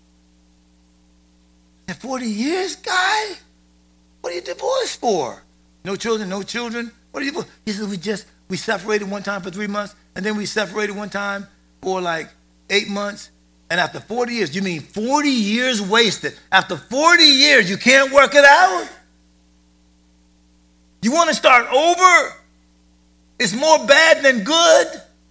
I said, 40 years, guy? What are you divorced for? No children, no children? What are you? He said, we separated one time for 3 months, and then we separated one time for like 8 months. And after 40 years, you mean 40 years wasted? After 40 years, you can't work it out? You want to start over? It's more bad than good.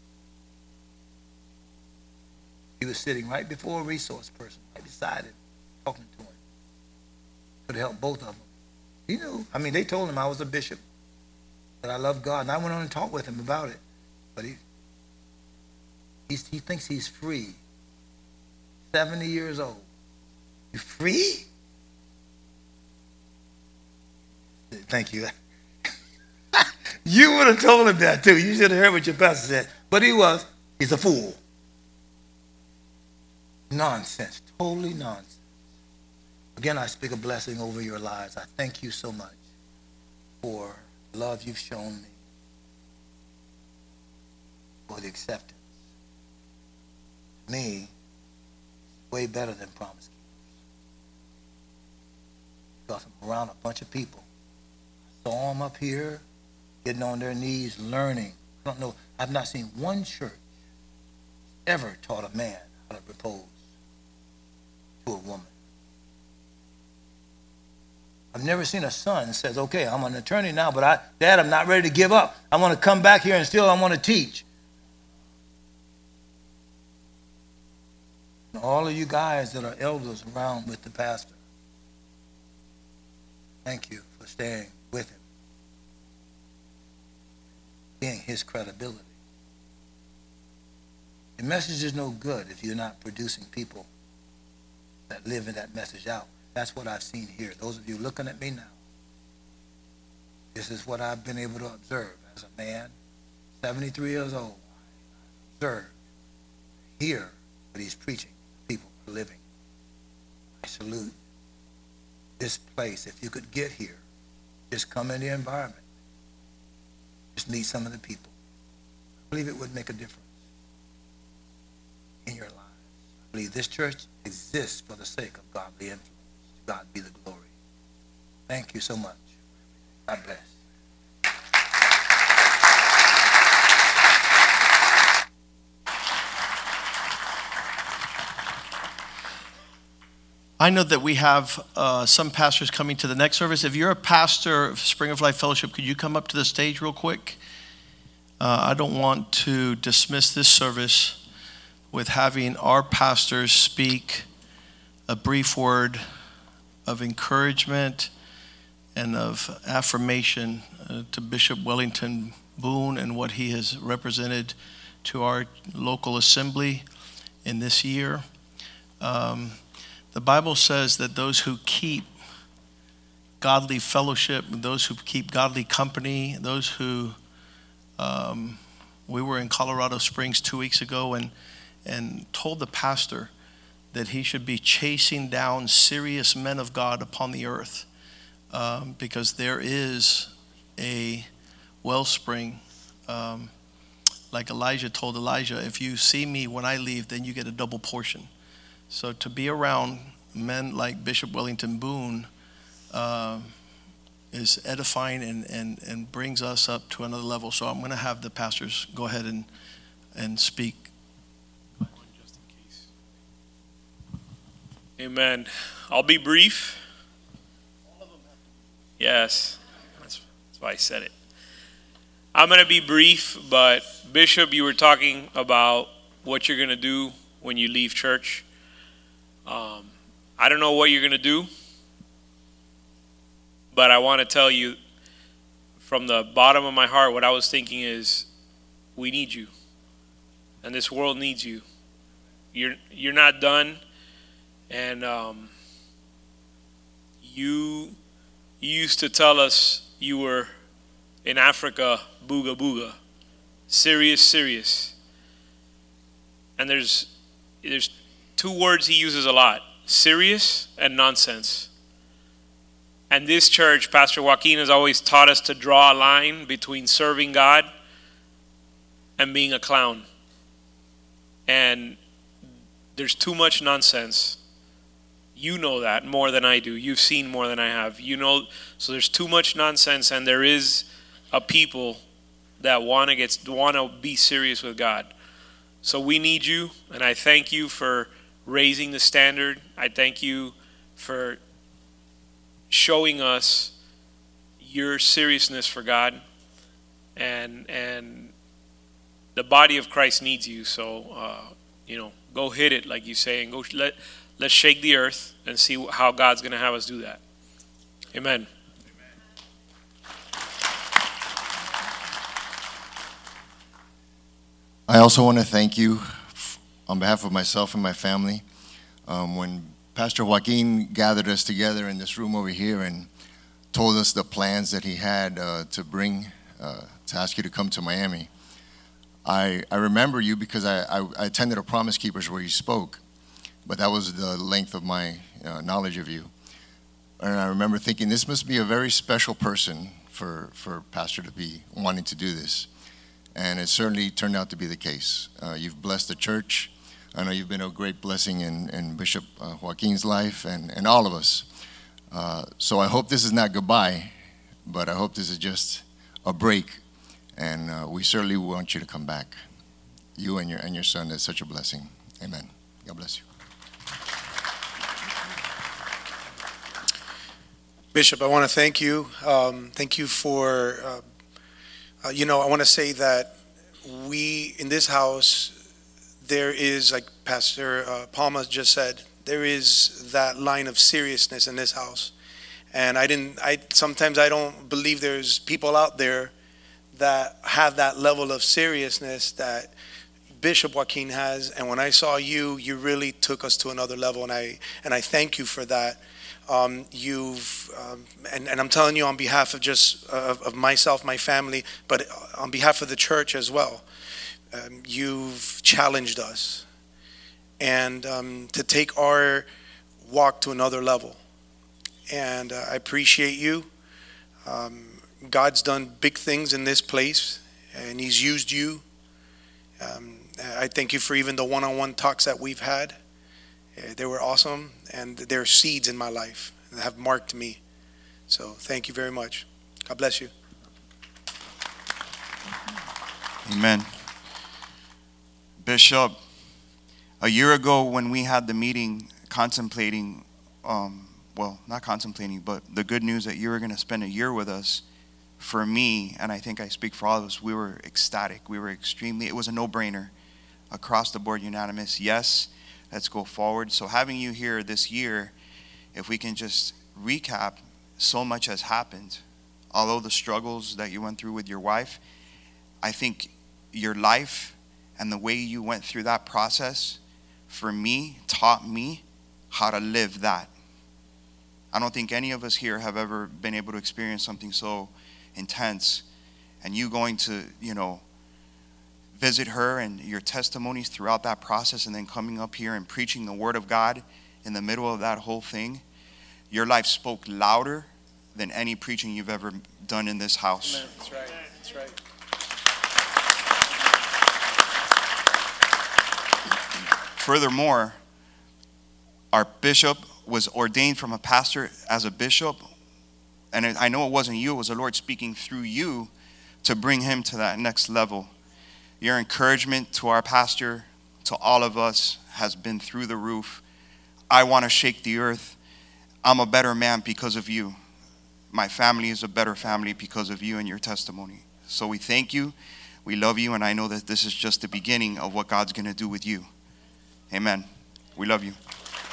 He was sitting right before a resource person, right beside him, talking to him. Could have helped both of them. He knew. I mean, they told him I was a bishop, that I love God. And I went on and talked with him about it. But he He thinks he's free. 70 years old. You free? Thank you. You would have told him that too. You should have heard what your pastor said. But he's a fool. Nonsense. Totally nonsense. Again, I speak a blessing over your lives. I thank you so much for the love you've shown me, for the acceptance. To me, it's way better than Promise Keepers. Because I'm around a bunch of people. I saw them up here, getting on their knees, learning. I don't know. I've not seen one church ever taught a man how to propose to a woman. I've never seen a son that says, okay, I'm an attorney now, but Dad, I'm not ready to give up. I want to come back here and still I want to teach. And all of you guys that are elders around with the pastor, thank you for staying with him, being his credibility. The message is no good if you're not producing people that live in that message out. That's what I've seen here. Those of you looking at me now, this is what I've been able to observe as a man, 73 years old. Observe, hear what he's preaching. People are living. I salute this place. If you could get here, just come in the environment. Just meet some of the people. I believe it would make a difference in your lives. I believe this church exists for the sake of godly influence. To God be the glory. Thank you so much. God bless. I know that we have some pastors coming to the next service. If you're a pastor of Spring of Life Fellowship, could you come up to the stage real quick? I don't want to dismiss this service with having our pastors speak a brief word of encouragement and of affirmation to Bishop Wellington Boone and what he has represented to our local assembly in this year. The Bible says that those who keep godly fellowship, those who keep godly company, those who, we were in Colorado Springs 2 weeks ago and told the pastor that he should be chasing down serious men of God upon the earth, because there is a wellspring, like Elijah told Elijah, if you see me when I leave, then you get a double portion. So to be around men like Bishop Wellington Boone is edifying and brings us up to another level. So I'm going to have the pastors go ahead and speak. Just in case. Amen. I'll be brief. Yes, that's why I said it. I'm going to be brief, but Bishop, you were talking about what you're going to do when you leave church. I don't know what you're going to do, but I want to tell you from the bottom of my heart, what I was thinking is, we need you, and this world needs you. You're not done, and you used to tell us you were in Africa, booga booga, serious. And there's two words he uses a lot: serious and nonsense. And this church, Pastor Joaquin has always taught us to draw a line between serving God and being a clown. And there's too much nonsense. You know that more than I do. You've seen more than I have. You know, so there's too much nonsense, and there is a people that want to be serious with God. So we need you, and I thank you for raising the standard. I thank you for showing us your seriousness for God, and the body of Christ needs you. So go hit it, like you say, and let's shake the earth and see how God's going to have us do that. Amen. I also want to thank you on behalf of myself and my family. When Pastor Joaquin gathered us together in this room over here and told us the plans that he had to ask you to come to Miami, I remember you because I attended a Promise Keepers where you spoke, but that was the length of my knowledge of you. And I remember thinking, this must be a very special person for Pastor to be wanting to do this. And it certainly turned out to be the case. You've blessed the church. I know you've been a great blessing in Bishop Joaquin's life and all of us. So I hope this is not goodbye, but I hope this is just a break. And we certainly want you to come back. You and your son is such a blessing. Amen. God bless you. Bishop, I want to thank you. Thank you for, I want to say that we, in this house, there is, like Pastor Palma just said, there is that line of seriousness in this house. And sometimes I don't believe there's people out there that have that level of seriousness that Bishop Joaquin has. And when I saw you, you really took us to another level. And I thank you for that. And I'm telling you on behalf of just of myself, my family, but on behalf of the church as well. You've challenged us and to take our walk to another level. And I appreciate you. God's done big things in this place, and He's used you. I thank you for even the one-on-one talks that we've had. They were awesome, and they're seeds in my life that have marked me. So thank you very much. God bless you. Amen. Bishop, a year ago when we had the meeting contemplating, not contemplating, but the good news that you were going to spend a year with us, for me, and I think I speak for all of us, we were ecstatic. We were it was a no-brainer, across the board, unanimous. Yes, let's go forward. So having you here this year, if we can just recap, so much has happened. Although the struggles that you went through with your wife, I think your life and the way you went through that process, for me, taught me how to live that. I don't think any of us here have ever been able to experience something so intense. And you going to, visit her and your testimonies throughout that process, and then coming up here and preaching the Word of God in the middle of that whole thing, your life spoke louder than any preaching you've ever done in this house. Amen. That's right. That's right. Furthermore, our bishop was ordained from a pastor as a bishop, and I know it wasn't you, it was the Lord speaking through you to bring him to that next level. Your encouragement to our pastor, to all of us, has been through the roof. I want to shake the earth. I'm a better man because of you. My family is a better family because of you and your testimony. So we thank you, we love you, and I know that this is just the beginning of what God's going to do with you. Amen. We love you.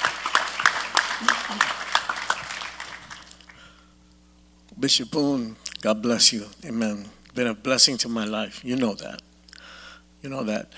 Bishop Boone, God bless you. Amen. Been a blessing to my life. You know that. You know that.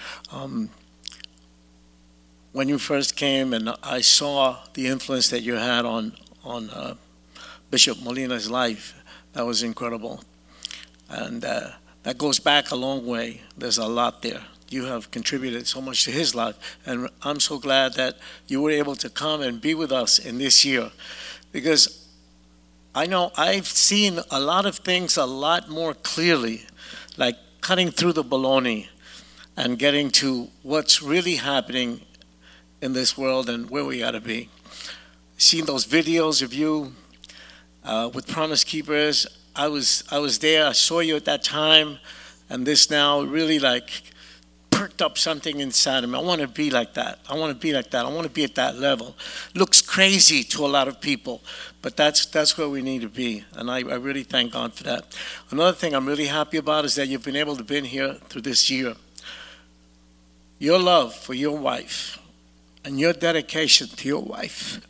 When you first came and I saw the influence that you had on Bishop Molina's life, that was incredible. And that goes back a long way. There's a lot there. You have contributed so much to his life. And I'm so glad that you were able to come and be with us in this year. Because I know I've seen a lot of things a lot more clearly, like cutting through the baloney and getting to what's really happening in this world and where we got to be. Seeing those videos of you with Promise Keepers, I was there. I saw you at that time, and this now really like perked up something inside of me. I want to be like that. I want to be like that. I want to be at that level. Looks crazy to a lot of people, but that's where we need to be, and I really thank God for that. Another thing I'm really happy about is that you've been able to be here through this year. Your love for your wife and your dedication to your wife.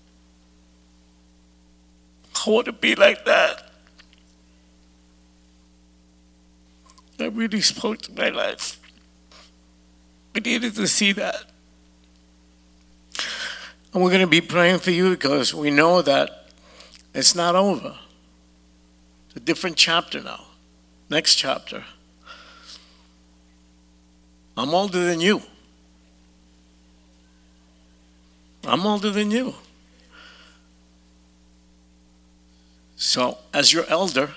I want to be like that. That really spoke to my life. We needed to see that. And we're going to be praying for you because we know that it's not over. It's a different chapter now. Next chapter. I'm older than you. I'm older than you. So, as your elder,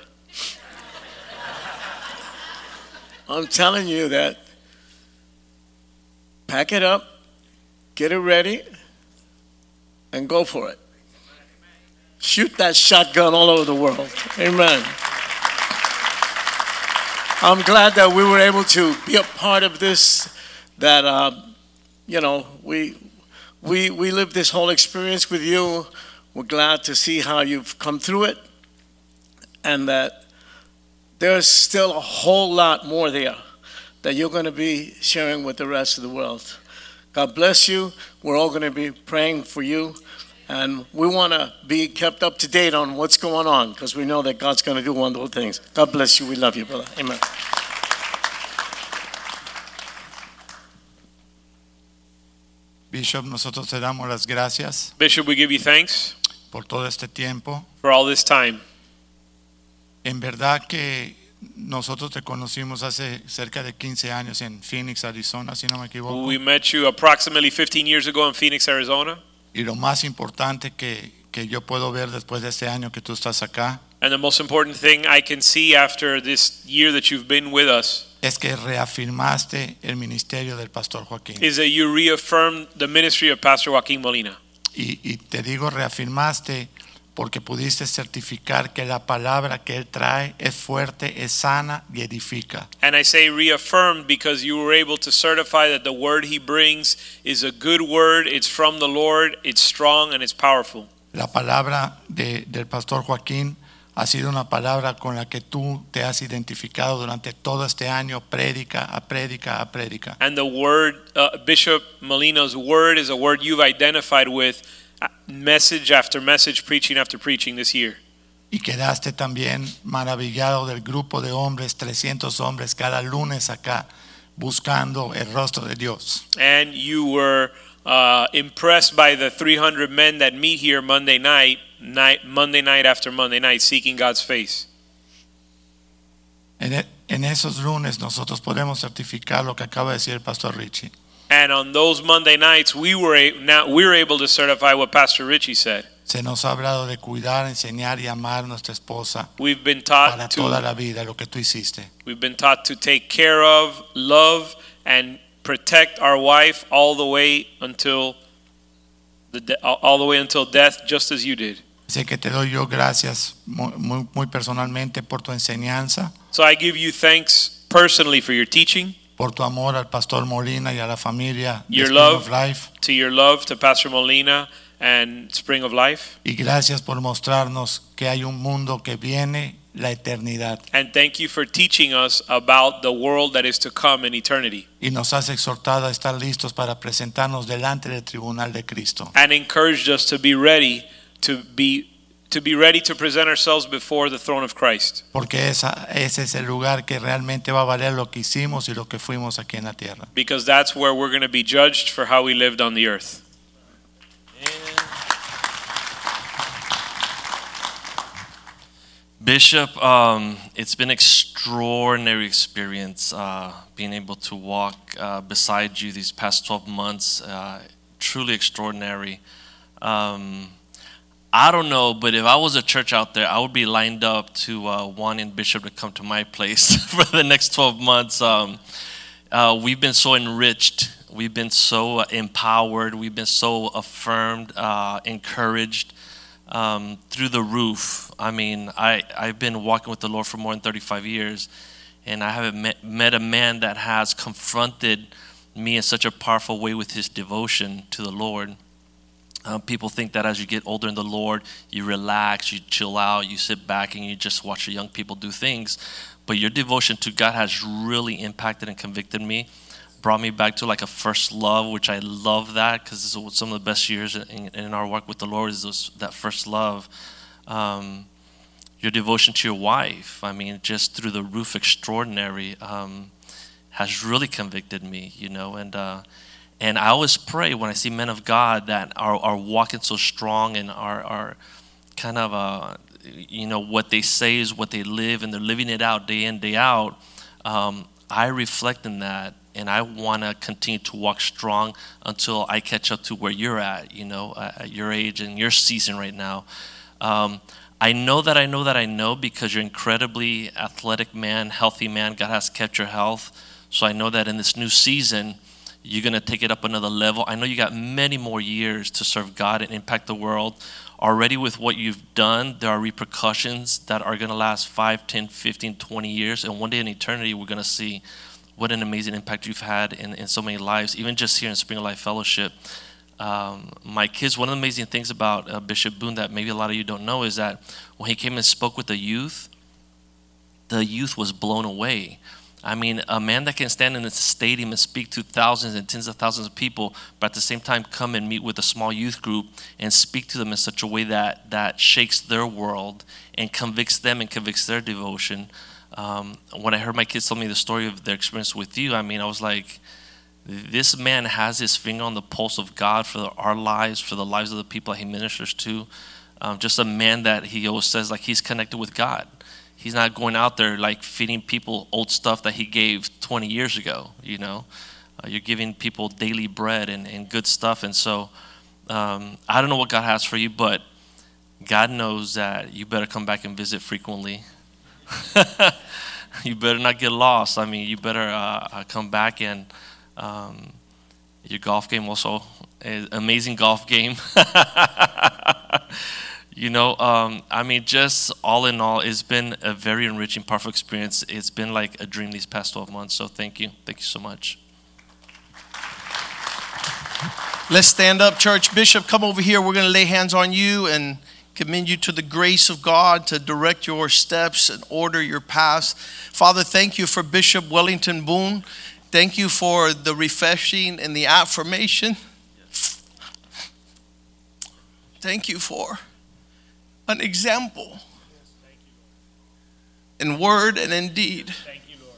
I'm telling you that pack it up, get it ready, and go for it. Shoot that shotgun all over the world. Amen. I'm glad that we were able to be a part of this, that, we lived this whole experience with you. We're glad to see how you've come through it, and that there's still a whole lot more there that you're going to be sharing with the rest of the world. God bless you. We're all going to be praying for you, and we want to be kept up to date on what's going on because we know that God's going to do wonderful things. God bless you. We love you, brother. Amen. Bishop, nosotros te damos las gracias Bishop, we give you thanks por todo este tiempo. for all this time. En verdad que nosotros te conocimos hace cerca de 15 años en Phoenix, Arizona, si no me equivoco. We met you approximately 15 years ago in Phoenix, Arizona. Y lo más importante que yo puedo ver después de este año que tú estás acá And the most important thing I can see after this year that you've been with us es que reafirmaste el ministerio del Pastor Joaquín. is that you reaffirmed the ministry of Pastor Joaquin Molina. Y te digo reafirmaste porque pudiste certificar que la palabra que él trae es fuerte, es sana y edifica. And I say reaffirmed because you were able to certify that the word he brings is a good word, it's from the Lord, it's strong and it's powerful. La palabra del Pastor Joaquín ha sido una palabra con la que tú te has identificado durante todo este año, prédica a prédica a prédica. And the word, Bishop Molina's word is a word you've identified with message after message, preaching after preaching this year. Y quedaste también maravillado del grupo de hombres, 300 hombres cada lunes acá, buscando el rostro de Dios. And you were impressed by the 300 men that meet here Monday night after Monday night, seeking God's face. En esos lunes nosotros podemos certificar lo que acaba de decir el Pastor Richie. And on those Monday nights, we were able to certify what Pastor Richie said. Se nos ha hablado de cuidar, enseñar y amar a nuestra esposa We've been para taught toda to la vida, lo que tú hiciste. take care of, love, and protect our wife all the way until death, just as you did. Así que te doy yo gracias muy personalmente por tu enseñanza, So I give you thanks personally for your teaching, por tu amor al Pastor Molina y a la familia de Your Spring love. of Life, to your love to Pastor Molina and Spring of Life, y gracias por mostrarnos que hay un mundo que viene, la eternidad, and thank you for teaching us about the world that is to come in eternity, y nos has exhortado a estar listos para presentarnos delante del tribunal de Cristo. and encouraged us to be ready to present ourselves before the throne of Christ. Porque ese es el lugar que realmente va a valer lo que hicimos y lo que fuimos aquí en la tierra. Because that's where we're going to be judged for how we lived on the earth. Bishop, it's been extraordinary experience being able to walk beside you these past 12 months. Truly extraordinary. I don't know, but if I was a church out there, I would be lined up to wanting Bishop to come to my place for the next 12 months. We've been so enriched. We've been so empowered. We've been so affirmed, encouraged. Through the roof. I mean, I've been walking with the Lord for more than 35 years, and I haven't met a man that has confronted me in such a powerful way with his devotion to the Lord. People think that as you get older in the Lord, you relax, you chill out, you sit back, and you just watch the young people do things. But your devotion to God has really impacted and convicted me. Brought me back to like a first love, which I love that because some of the best years in our work with the Lord is that first love. Your devotion to your wife, I mean, just through the roof, extraordinary, has really convicted me, you know. And And I always pray when I see men of God that are walking so strong and are kind of, what they say is what they live, and they're living it out day in, day out. I reflect in that, and I want to continue to walk strong until I catch up to where you're at, at your age and your season right now. I know because you're an incredibly athletic man, healthy man. God has kept your health. So I know that in this new season, you're going to take it up another level. I know you got many more years to serve God and impact the world. Already with what you've done, there are repercussions that are going to last 5, 10, 15, 20 years. And one day in eternity, we're going to see what an amazing impact you've had in so many lives, even just here in Spring of Life Fellowship. My kids, one of the amazing things about Bishop Boone that maybe a lot of you don't know is that when he came and spoke with the youth was blown away. I mean, a man that can stand in a stadium and speak to thousands and tens of thousands of people, but at the same time come and meet with a small youth group and speak to them in such a way that shakes their world and convicts them and convicts their devotion. When I heard my kids tell me the story of their experience with you, I was like, this man has his finger on the pulse of God for our lives, for the lives of the people that he ministers to. Just a man that he always says like he's connected with God. He's not going out there like feeding people old stuff that he gave 20 years ago, You're giving people daily bread and good stuff. And so I don't know what God has for you, but God knows that you better come back and visit frequently. You better not get lost. You better come back, and your golf game also, amazing golf game. Just all in all, it's been a very enriching, powerful experience. It's been like a dream these past 12 months. So thank you so much. Let's stand up, church. Bishop, come over here. We're going to lay hands on you and commend you to the grace of God to direct your steps and order your paths. Father, thank you for Bishop Wellington Boone. Thank you for the refreshing and the affirmation. Thank you for an example in word and in deed. Thank you, Lord.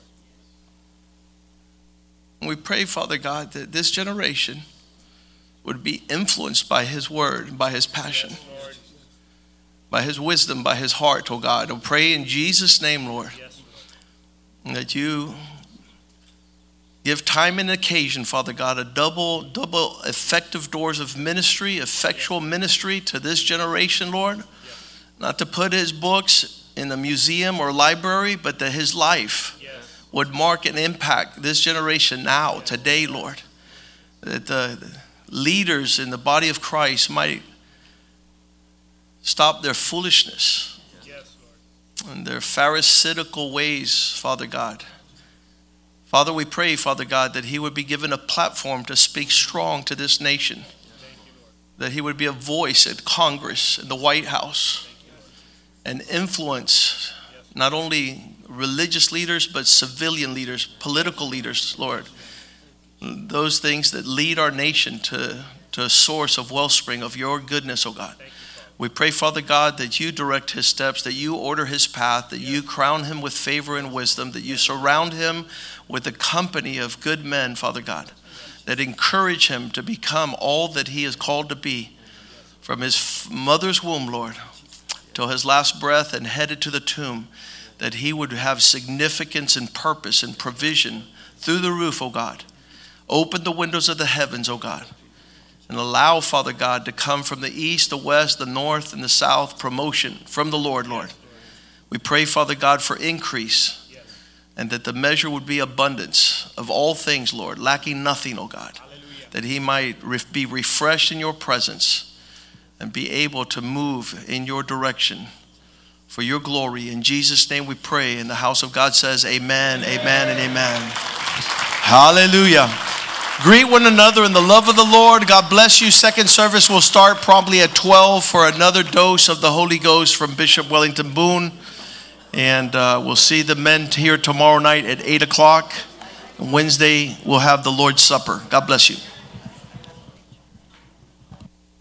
And we pray, Father God, that this generation would be influenced by his word, by his passion, Lord. by his wisdom, by his heart, oh God. I pray in Jesus' name, Lord, Yes, Lord. that you give time and occasion, Father God, a double effective doors of ministry, effectual ministry to this generation, Lord. Not to put his books in a museum or library, but that his life would mark and impact this generation now, today, Lord. That the leaders in the body of Christ might stop their foolishness and their pharisaical ways, Father God. Father, we pray, Father God, that he would be given a platform to speak strong to this nation. That he would be a voice at Congress, in the White House, and influence not only religious leaders, but civilian leaders, political leaders, Lord. Those things that lead our nation to a source of wellspring of your goodness, oh God. We pray, Father God, that you direct his steps, that you order his path, that you crown him with favor and wisdom, that you surround him with a company of good men, Father God, that encourage him to become all that he is called to be from his mother's womb, Lord, till his last breath and headed to the tomb, that he would have significance and purpose and provision through the roof, oh God. Open the windows of the heavens, oh God, and allow, Father God, to come from the east, the west, the north, and the south, promotion from the Lord, Lord. We pray, Father God, for increase, and that the measure would be abundance of all things, Lord, lacking nothing, oh God, that he might be refreshed in your presence and be able to move in your direction for your glory. In Jesus' name we pray, and the house of God says amen, amen, and amen. Hallelujah. Greet one another in the love of the Lord. God bless you. Second service will start promptly at 12 for another dose of the Holy Ghost from Bishop Wellington Boone. And we'll see the men here tomorrow night at 8 o'clock. Wednesday, we'll have the Lord's Supper. God bless you.